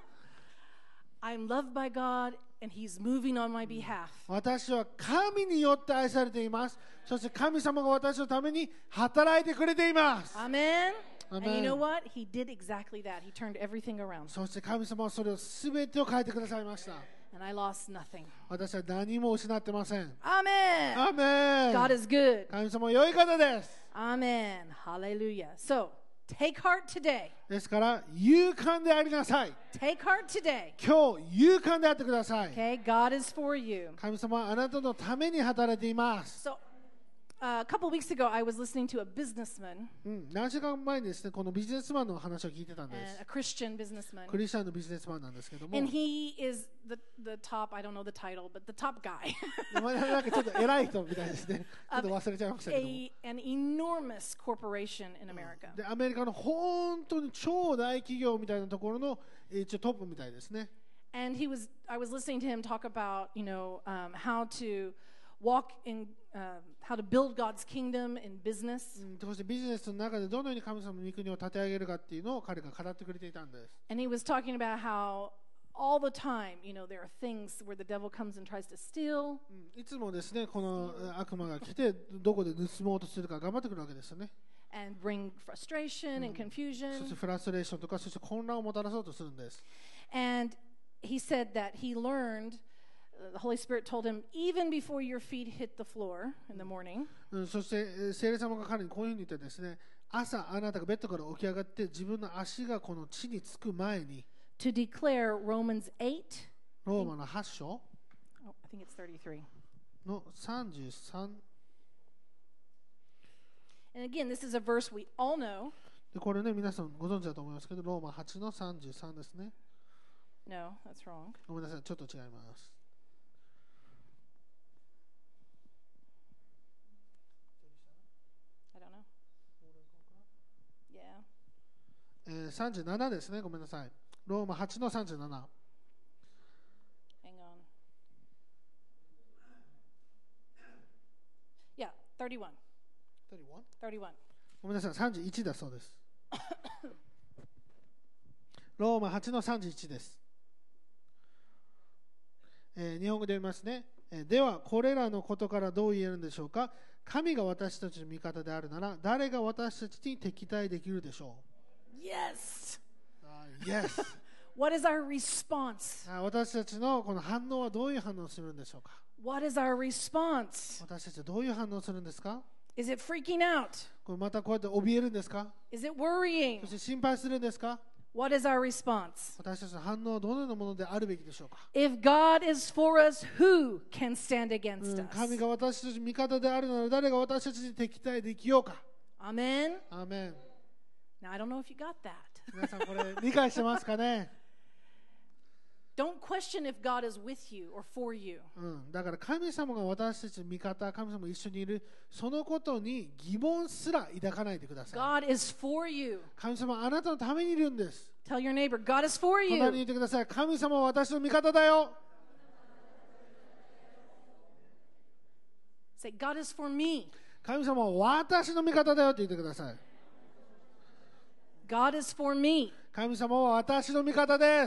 I'm loved by God and He's moving on my behalf. 私は神によって愛されています。そして神様が私のために働いてくれています。 Amen. And you Amen. know what? He did exactly that. He turned everything around. そして神様はそれを全てを変えてくださいました。 And I lost nothing. 私は何も失ってません。 Amen. アーメン。 God is good. 神様は良い方です。 Amen. Hallelujah. So, take heart today. ですから勇敢でありなさい。 Take heart today. 今日勇敢であってください。 Okay? God is for you. 神様はあなたのために働いています。 So, a couple weeks ago, I was listening to a businessman, 何週間前にですね、このビジネスマンの話を聞いてたんで and す a。Christian businessman. クリスチャンのビジネスマンなんですけども、 And he is the top, I don't know the title, but the top guy. なんかちょっと偉い人みたいですね。ちょっと忘れちゃいましたけども。 An enormous corporation in America. でアメリカの本当に超大企業みたいなところの一応トップみたいですね。 And I was listening to him talk about, how to walk in, how to build God's kingdom in business. そしてビジネスの中でどのように神様の御国を立て上げるかっていうのを彼が語ってくれていたんです。 And he was talking about how all the time, there are things where the devil comes and tries to steal. いつもですね、この悪魔が来てどこで盗もうとするか頑張ってくるわけですよね。 And bring frustration and そして confusion. フラストレーションとか、そして混乱をもたらそうとするんです。 And he said that he learned, the Holy Spirit told him, even before your feet hit the floor in the morning, そして聖霊様が彼にこういうふうに言ってですね、朝あなたがベッドから起き上がって自分の足がこの地につく前に to declare Romans 8. ローマの8章、 Oh, I think it's 33. の33 And again, this is a verse we all know. で、これね、皆さんご存知だと思いますけど、ローマ8の33ですね。 No, that's wrong. ごめんなさい、ちょっと違います。 I don't know. Yeah. 37ですね、ごめんなさい。ローマ8の37。 Hang on. 31. 31. ごめんなさい、31だそうです。ローマ8の31です。日本語で読みますね。では、これらのことからどう言えるんでしょうか。神が私たちの味方であるなら、誰が私たちに敵対できるでしょう。Yes! Yes! What is our response? 私たちのこの反応はどういう反応をするんでしょうか。 What is our response? 私たちはどういう反応をするんですか。 Is it freaking out? これまたこうやって怯えるんですか。 Is it worrying? そして心配するんですか。 What is our response? 私たちの反応はどのようなものであるべきでしょうか。 If God is for us, who can stand against us? 神が私たちの味方であるなら誰が私たちに敵対できようか。 Amen. アーメン。 Now I don't know if you got that. 皆さんこれ理解してますかね。 Don't question if God is with you or for you. だから神様が私たちの味方、神様が一緒にいる、そのことに疑問すら抱かないでください。 God is for you. 神様はあなたのためにいるんです。 Tell your neighbor, God is for 隣に you. 言ってください。神様は私の味方だよ。 Say, God is for me. 神様は私の味方だよって言ってください。 God is for me. 神様は私の味方です。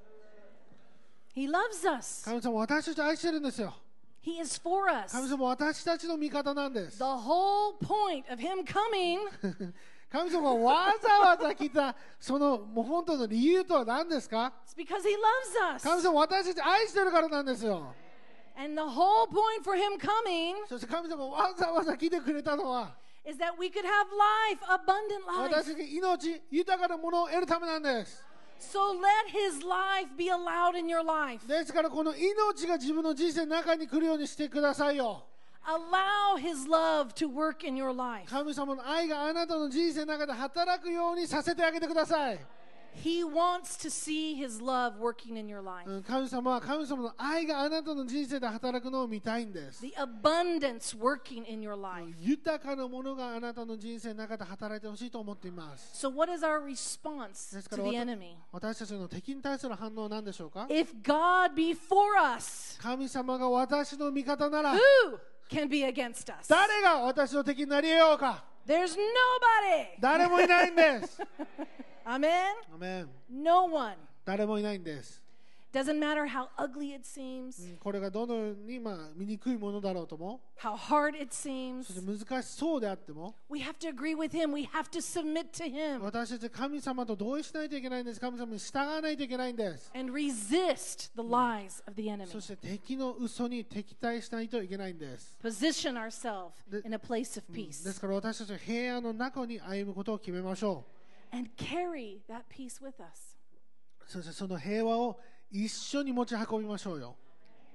He loves us. 神様は私たちを愛してるんですよ。 He is for us. 神様は私たちの味方なんです。 The whole point of Him coming 神様がわざわざ来たそのもう本当の理由とは何ですか。 is because He loves us. 神様は私たちを愛してるからなんですよ。 And the whole point for Him coming そして神様はわざわざ来てくれたのは is that we could have life, abundant 私 life. たちが命豊かなものを得るためなんです。 So let His life be allowed in your life. ですからこの命が自分の人生の中に来るようにしてくださいよ。 Allow His love to work in your life. 神様の愛があなたの人生の中で働くようにさせてあげてください。 He wants to see His love working in your life. 神様は神様の愛があなたの人生で働くのを見たいんです。 The abundance working in your life. 豊かなものがあなたの人生の中で働いてほしいと思っています。 So what is our response ですか to ら the enemy? 私たちの敵に対する反応は何でしょうか。 If God be for us, 神様が私の味方なら who can be against us? 誰が私の敵になり得ようか。 There's nobody. 誰もいないんです。 Amen? アメン。 No one. 誰もいないんです。 Doesn't matter how ugly it seems, これがどのように醜いものだろうとも、 how hard it seems. そして難しそうであっても、 We have to agree with Him. We have to submit to Him 私たち神様と同意しないといけないんです。神様に従わないといけないんです。 and resist the lies of the enemy. そして敵の嘘に敵対しないといけないんです。 Position ourselves in a place of で peace すから私たちは平安の中に歩むことを決めましょ and carry that peace with us. う。そしてその平和を一緒に持ち運びましょうよ。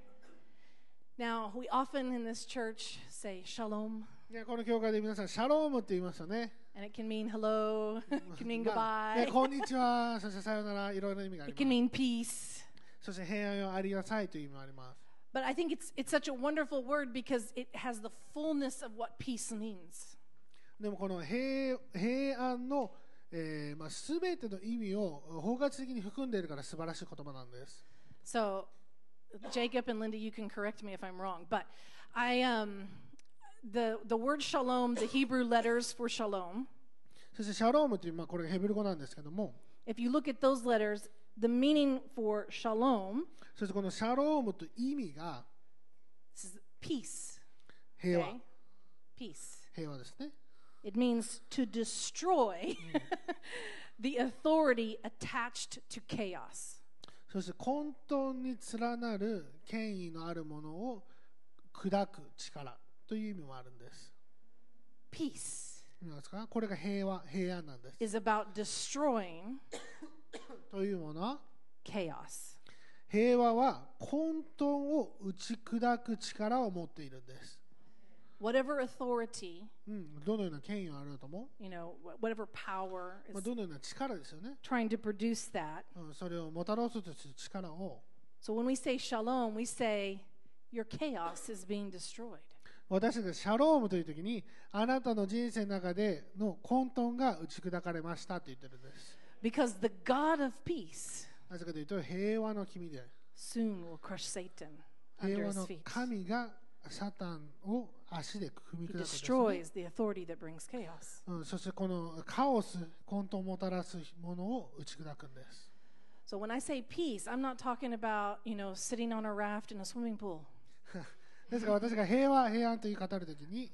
Now, we often in this church say shalom, この教会で皆さんシャロームって言いますよね。 and it can mean hello, it can mean ね goodbye, こんにちは、そしてさよなら、いろいろな意味があり it can ます。 mean peace. そして平安をありなさいという意味もあります。 But I think it's such a wonderful word because it has the fullness of what peace means. でもこの平安のすべての意味を包括的に含んでいるから素晴らしい言葉なんです。 So, Jacob and Linda, you can correct me if I'm wrong, but the word shalom, the Hebrew letters for shalom, そしてシャロームというこれがヘブル語なんですけども、 if you look at those letters, the meaning for shalom そしてこのシャロームという意味が is peace. 平和、 Okay? Peace. 平和ですね。 It means to destroy the authority attached to chaos. そして混沌に連なる権威のあるものを砕く力という意味もあるんです。 Peace 見ますか？これが平和、平安なんです。 is about destroying というものは chaos. 平和は混沌を打ち砕く力を持っているんです。 Whatever authority, どのような権威があると思う？ whatever power ど is のような力ですよね。 trying to produce that. それをもたらそうとする力を。 So when we say shalom, we say your chaos is being destroyed. 私たちがシャロームというときに、あなたの人生の中での混沌が打ち砕かれましたと言ってるんです。 Because the God of peace なぜかというと、平和の君で、 soon will crush Satan 平 under 和 his の feet. 神がサタンを足で踏み He 砕くんですね。 destroys the authority that brings chaos. そしてこのカオス、混沌をもたらすものを打ち砕くんです。 So when I say peace, I'm not talking about, sitting on a raft in a swimming pool. ですから私が平和、平安と言い語るときに、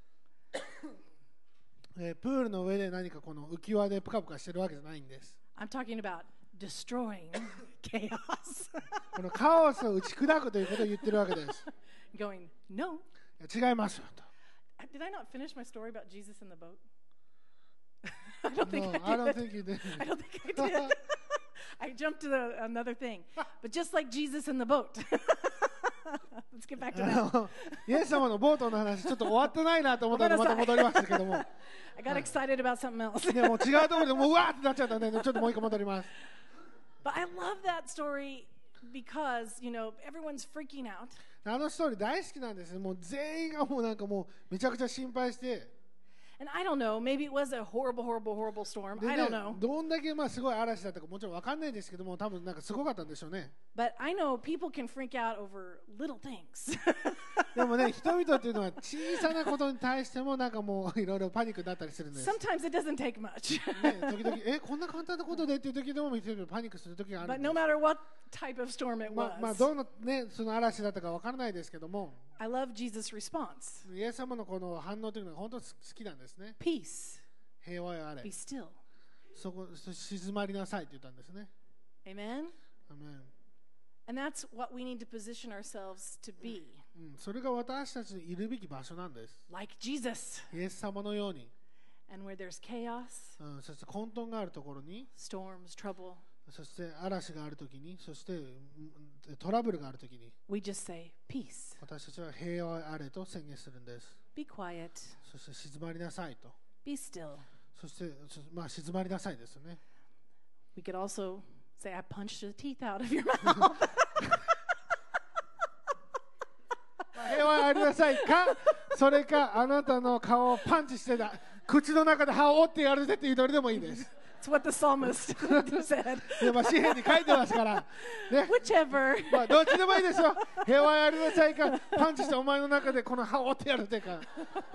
プールの上で何かこの浮き輪でプカプカしてるわけじゃないんです。 I'm talking about destroying chaos. このカオスを打ち砕くということを言ってるわけです。 Going, no. 違いますよと。 Did I not finish my story about Jesus in the boat? I don't think No, I I did. don't think you did. I don't think I did. I jumped to another thing. But just like Jesus in the boat. Let's get back to that. イエス様のボートの話ちょっと終わってないなと思ったのでまた戻りましたけども、 I got excited about something else. でも違うところでもううわーってなっちゃったんで、ちょっともう一個戻ります。 But I love that story because, everyone's freaking out. あのストーリー大好きなんです。もう全員がもうなんかもうめちゃくちゃ心配して。 And I don't know, maybe it was a horrible, horrible, horrible storm. で I ね don't know. どんだけすごい嵐だったかもちろん分かんないですけども、多分なんかすごかったんでしょうね。 But I know people can freak out over little things. でもね、人々っていうのは小さなことに対してもなんかもういろいろパニックになったりするんです。 Sometimes it doesn't take much. ね、時々こんな簡単なことでっていう時でも人々パニックする時がある But んで no す。 matter what type of storm it まあ was, どのねその嵐だったか分からないですけども、 I love Jesus' response. イエス様のこの反応というのが本当に好きなんですね。 Peace, 平和よあれ be。still. 静まりなさいと言ったんですね。 Amen? アメン。 And that's what we need to position ourselves to be. それが私たちのいるべき場所なんです。 Like Jesus. イエス様のように、 And where there's chaos, そして混沌があるところに、 storms, trouble, そして嵐があるときに、そしてトラブルがあるときに、 we just say, peace. 私たちは平和あれと宣言するんです。 Be quiet. そして静まりなさいと。 Be still. そして静まりなさいですよね。 We could also say, I punched the teeth out of your mouth. 平和ありなさいか、それかあなたの顔をパンチしてた、口の中で歯を折ってやるぜっていうどれでもいいです。 It's what the psalmist said. で詩篇に書いてますから、ね、 Whichever. どっちでもいいですよ。平和ありなさいか、パンチしてお前の中でこの歯を折ってやるぜか。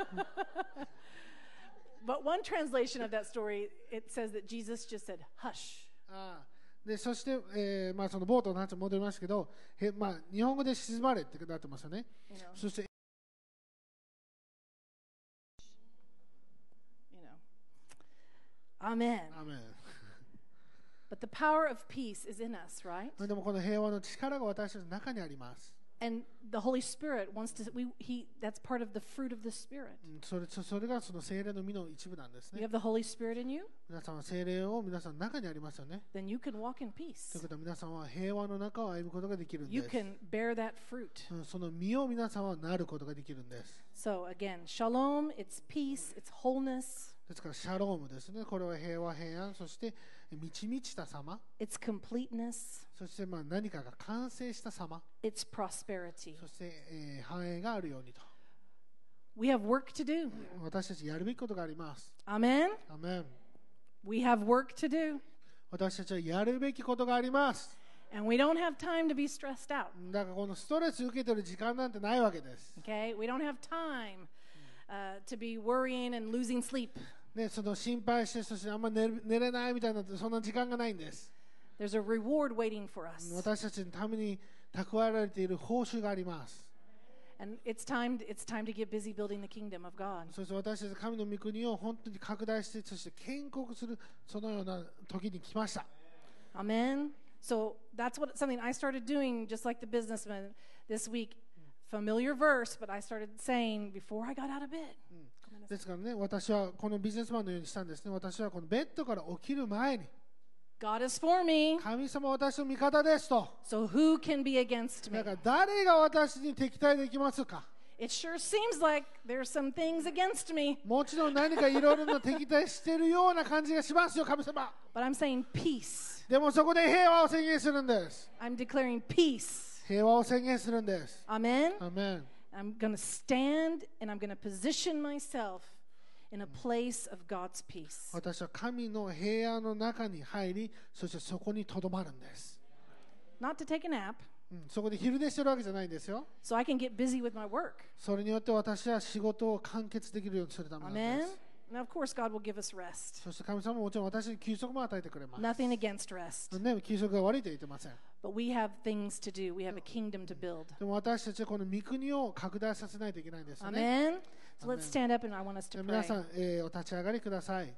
But one translation of that story, it says that Jesus just said, hush. でそして、そのボートの話に戻りましたけど、日本語で静まれってなってますよね。そして、 Amen. アメン。 But the power of peace is in us, right? でもこの平和の力が私たちの中にあります。 And the Holy Spirit wants to, that's part of the fruit of the Spirit. それがその聖霊の実の一部なんですね。 You have the Holy Spirit in you, 皆さんは聖霊を皆さんの中にありますよね。 then you can walk in という peace. ことは皆さんは平和の中を歩むことができるん You です。 can bear that fruit. その実を皆さんはなることができるんです。 So again, shalom, it's peace, it's wholeness, ですからシャロームですね。これは平和平安、そして満ち満ちた様、 it's completeness, そして何かが完成した様、 it's prosperity. そして、繁栄があるようにと。 We have work to do. 私たちやるべきことがあります。 Amen? アメン。 We have work to do. 私たちはやるべきことがあります。 And we don't have time to be stressed out. だからこのストレス受けてる時間なんてないわけです。 Okay? We don't have time to be worrying and losing sleep. ね、その心配して、そしてあんま寝れないみたいな、そんな時間がないんです。 There's a reward waiting for us. 私たちのために蓄えられている報酬があります。 And it's time to get busy building the kingdom of God. そして私たち神の御国を本当に拡大して、そして建国するそのような時に来ました。 Amen. So that's something I started doing, just like the businessman this week. Familiar verse, but I started saying before I got out of bed. ですからね、私はこのビジネスマンのようにしたんですね。私はこのベッドから起きる前に、 God is for me, 神様は私の味方ですと。 so who can be against me? だから誰が私に敵対できますか。 It sure seems like there's some things against me, もちろん何かいろいろな敵対しているような感じがしますよ、神様。 but I'm saying peace. でもそこで平和を宣言するんです。 I'm declaring peace. 平和を宣言するんです。 Amen? アメン。 I'm going to stand and I'm going to position myself in a place of God's peace. 私は神の平安の中に入り、そしてそこにとどまるんです。 Not to take a nap, そこで昼寝してるわけじゃないんですよ。 so I can get busy with my work. それによって私は仕事を完結できるようにするためなんで Amen? す。 Now, of course, God will give us rest. そして神様ももちろん私に休息も与えてくれます。 Nothing against rest. ね、休息が悪いとは言ってません。 But we have things to do. We have a kingdom to build. でも私たちはこの御国を拡大させないといけないんですよね。 Amen? So let's stand up and I want us to 皆 pray. さん、お立ち上がりください。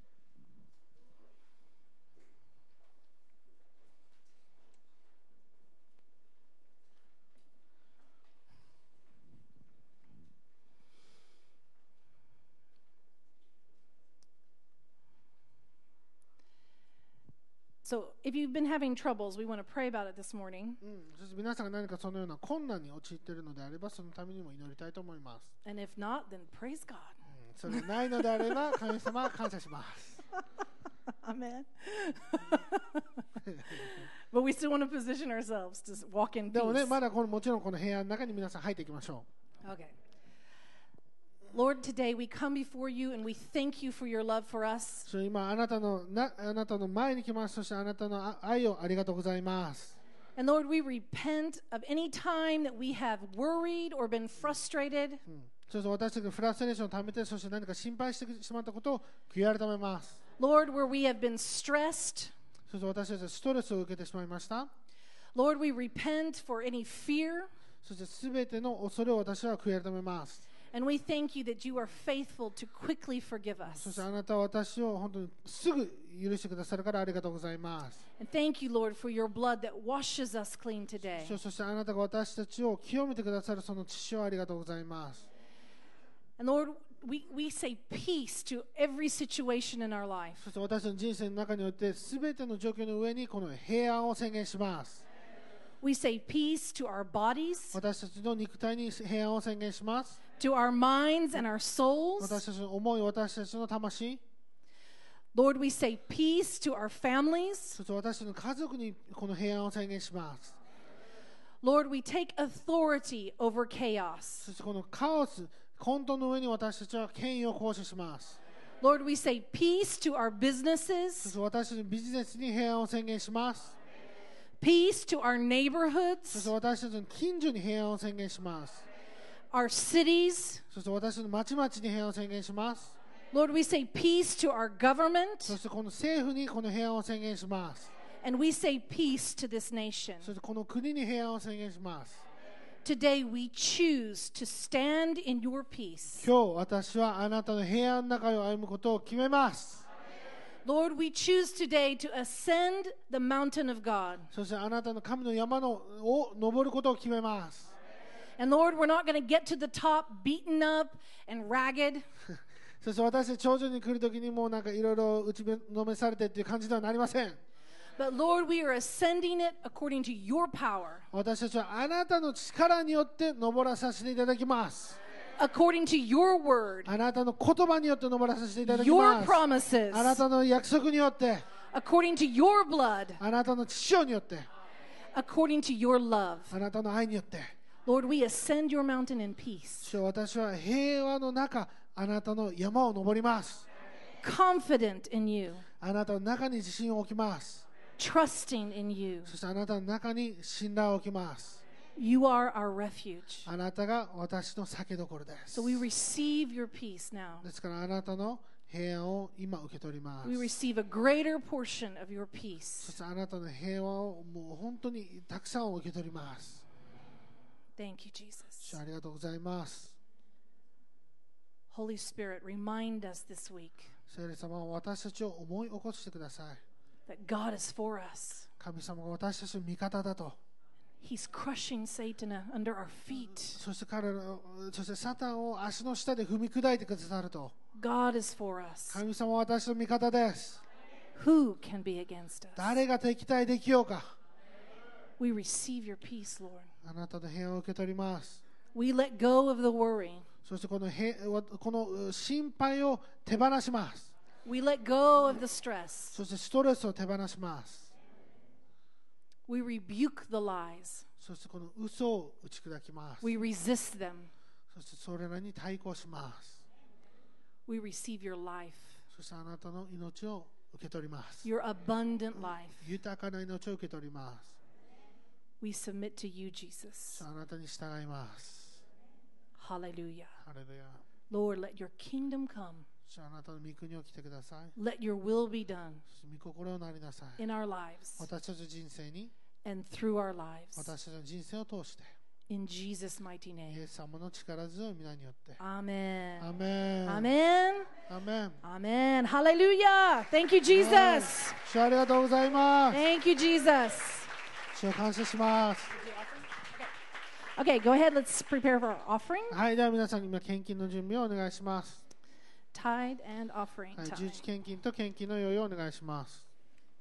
So if you've been having troubles, we want to pray about it this morning. そして皆さんが何かそのような困難に陥っているのであれば、そのためにも祈りたいと思います。 And if not, then praise God. それがないのであれば、神様は感謝します。 Amen. But we still want to position ourselves to walk in でもね、 peace. まだもちろんこの平安の中に皆さん入っていきましょ Okay. Lord, today we come before you and we thank you for your love for う。 us. それ今あなたの前に来ます。そしてあなたの愛をありがとうございます。 And Lord, we repent of any time that we have worried or been frustrated. そして私たちがフラストレーションをためて、そして何か心配してしまったことを悔い改めます。 Lord, where we have been stressed. そして私たちはストレスを受けてしまいました。 Lord, we repent for any fear. そしてすべての恐れを私は悔い改めます。 And we thank you that you are faithful to quickly forgive そ us. してあなたは私を本当にすぐ許してくださるからありがとうございます。 And thank you, Lord, for your blood that washes us clean today. そしてあなたが私たちを清めてくださるその血をありがとうございます。 And Lord, we say peace to every situation in our life. そして私の人生の中においてすべての状況の上にこの平安を宣言します。 We say peace to our bodies, 私たちの肉体に平安を宣言します。 to our minds and our souls. 私たちの思い、私たちの魂、 Lord, we say peace to our families. そして私たちの家族にこの平安を宣言します。 Lord, we take authority over chaos. そしてこのカオス、混沌の上に私たちは権威を行使します。 Lord, we say peace to our そ businesses, して私たちのビジネスに平安を宣言します。 peace to our そして neighborhoods, 私たちの近所に平安を宣言します。 our cities. そして私たちの町々に平安を宣言します。 Lord, we say peace to our government, そしてこの政府にこの平安を宣言します。 and we say peace to this nation. そしてこの国に平安を宣言します。 Today we choose to stand in your peace. 今日私はあなたの平安の中を歩むことを決めます。 Lord, we choose today to ascend the mountain of God. そしてあなたの神の山を登ることを決めます。 And Lord, we're not going to get to the top beaten up and ragged. そして私たち頂上に来るときにもうなんかいろいろ打ちのめされてっていう感じではなりません。 But Lord, we are ascending it according to your power, 私たちはあなたの力によって登らさせていただきます。 according to your word, あなたの言葉によって登らさせていただき your ます。 promises, あなたの約束によって、 according to your blood, あなたの血潮によって、 according to your love. あなたの愛によって、 Lord, we ascend your mountain in peace, 主よ私は平和の中、あなたの山を登ります。 confident in you, あなたの中に自信を置きます。 trusting in you. そしてあなたの中に信頼を置きます。 You are our refuge. あなたが私の酒どころです。 So we receive your peace now. ですからあなたの平安を今受け取ります。 We receive a greater portion of your そ peace. してあなたの平和をもう本当にたくさん受け取ります。 Thank you, Jesus. 主ありがとうございます。 Holy Spirit, remind us this week 聖霊様は私たちを思い起こしてください。 that God is for us. 神様が私たちの味方だと。 He's crushing Satan under our feet. そしてサタンを足の下で踏み砕いてくださると。 God is for us. 神様は私の味方です。 Who can be against us? 誰が敵対できようか。 We receive your peace, Lord. あなたの平和を受け取ります。 We let go of the worry. そしてこの心配を手放します。 We let go of the stress. そしてストレスを手放します。 We rebuke the lies. そしてこの嘘を打ち砕きます。 We resist them. そしてそれらに対抗します。 We receive your life, そしてあなたの命を受け取ります。 your abundant life. 豊かな命を受け取ります。 We submit to you, Jesus. あなたに従います。 Hallelujah. ハレルヤ。 Lord, let your kingdom come. そしてあなたの御国を来てください。 Let your will be done そして御心をなりなさい。 in our lives 私たちの人生に、 and through our lives. 私たちの人生を通して、 In Jesus' mighty イ name. エス様の力強い皆によって。 Amen. アメン。 Amen. アメン。 Amen. Hallelujah. Thank you, Jesus. 主ありがとうございます。 Thank you, Jesus. 主を感謝します。 Okay, go ahead. Let's prepare for our offering. はい、では皆さんに今献金の準備をお願いします。 Tithe and offering はい、 time. 十一献金と献金の用意をお願いします。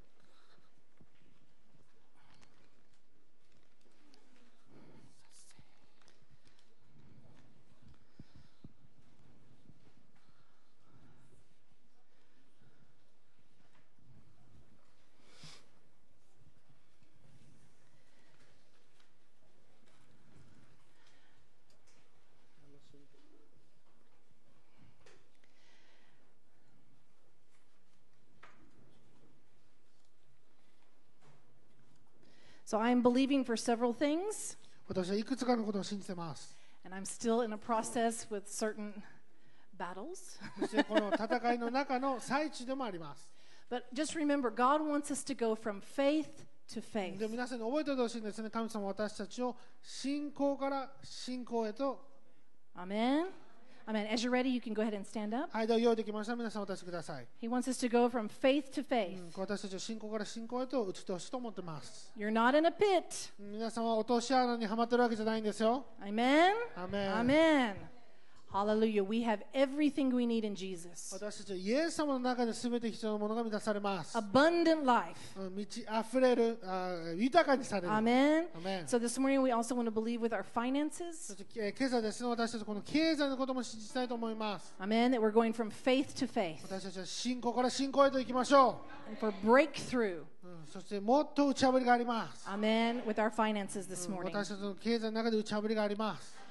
So I'm believing for several things, 私はいくつかのことを信じてます。 and I'm still in a process with certain battles. そしてこの戦いの中の最中でもあります。 But just remember, God wants us to go from faith to faith. で皆さんに覚えておいてほしいんですね。神様は私たちを信仰から信仰へと。 Amen. Amen. As you're ready, you can go ahead and stand up. はい、では用意できました。皆さんお立ちください。 He wants us to go from faith to faith. 私たちを信仰から信仰へと移ってほしいと思ってます。 You're not in a pit. 皆さんは落とし穴にはまってるわけじゃないんですよ。 Amen. アメン。 Amen. Hallelujah. We have everything we need in Jesus. 私たちはイエス様の中で全て必要なものが満たされます。 Abundant life. 満ち溢れる、豊かにされる。 Amen. アメン。 So this morning we also want to believe with our そ finances. して今朝ですね、私たちこの経済のことも信じたいと思います。 Amen. That we're going from faith to faith 私たちは信仰から信仰へと行きましょ and for breakthrough. う。そしてもっと打ち破りがあります。 Amen. With our finances this morning. 私たちの経済の中で打ち破りがあります。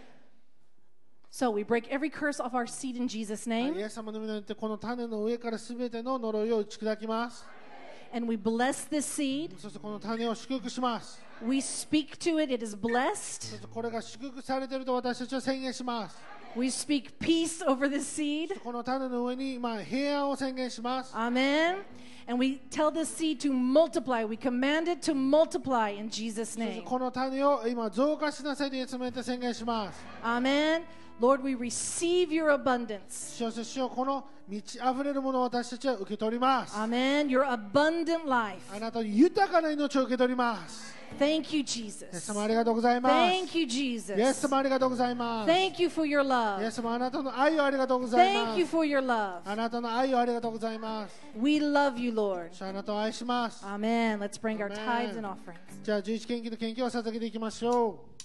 So we break every curse off our seed in Jesus' イ name. エス様の皆によってこの種の上からすべての呪いを打ち砕きます。 And we bless this seed. そしてこの種を祝福します。 We speak to it. It is そ blessed. してこれが祝福されていると私たちは宣言します。 We speak peace over this seed. この種の上に今平安を宣言します。 Amen. And we tell this seed to multiply. We command it to multiply in Jesus' そして name. この種を今増加しなさいとイエス様によって宣言します。 Amen. Lord, we receive your abundance. そして主よ、この満ち溢れるものを私たちは受け取ります。 Amen. Your abundant life. あなたの豊かな命を受け取ります。 Thank you, イエス Jesus. 様ありがとうございます。 Thank you, イエス Jesus. 様ありがとうございます。 Thank you for your イエ love. ス様あなたの愛をありがとうございま Thank you す。 for your love. あなたの愛をありがとうございます。 We love you, Lord. 主あなたを愛します。 Amen. Let's bring our Amen. tithes and offerings. じゃあ11献金と献金を捧げていきましょう。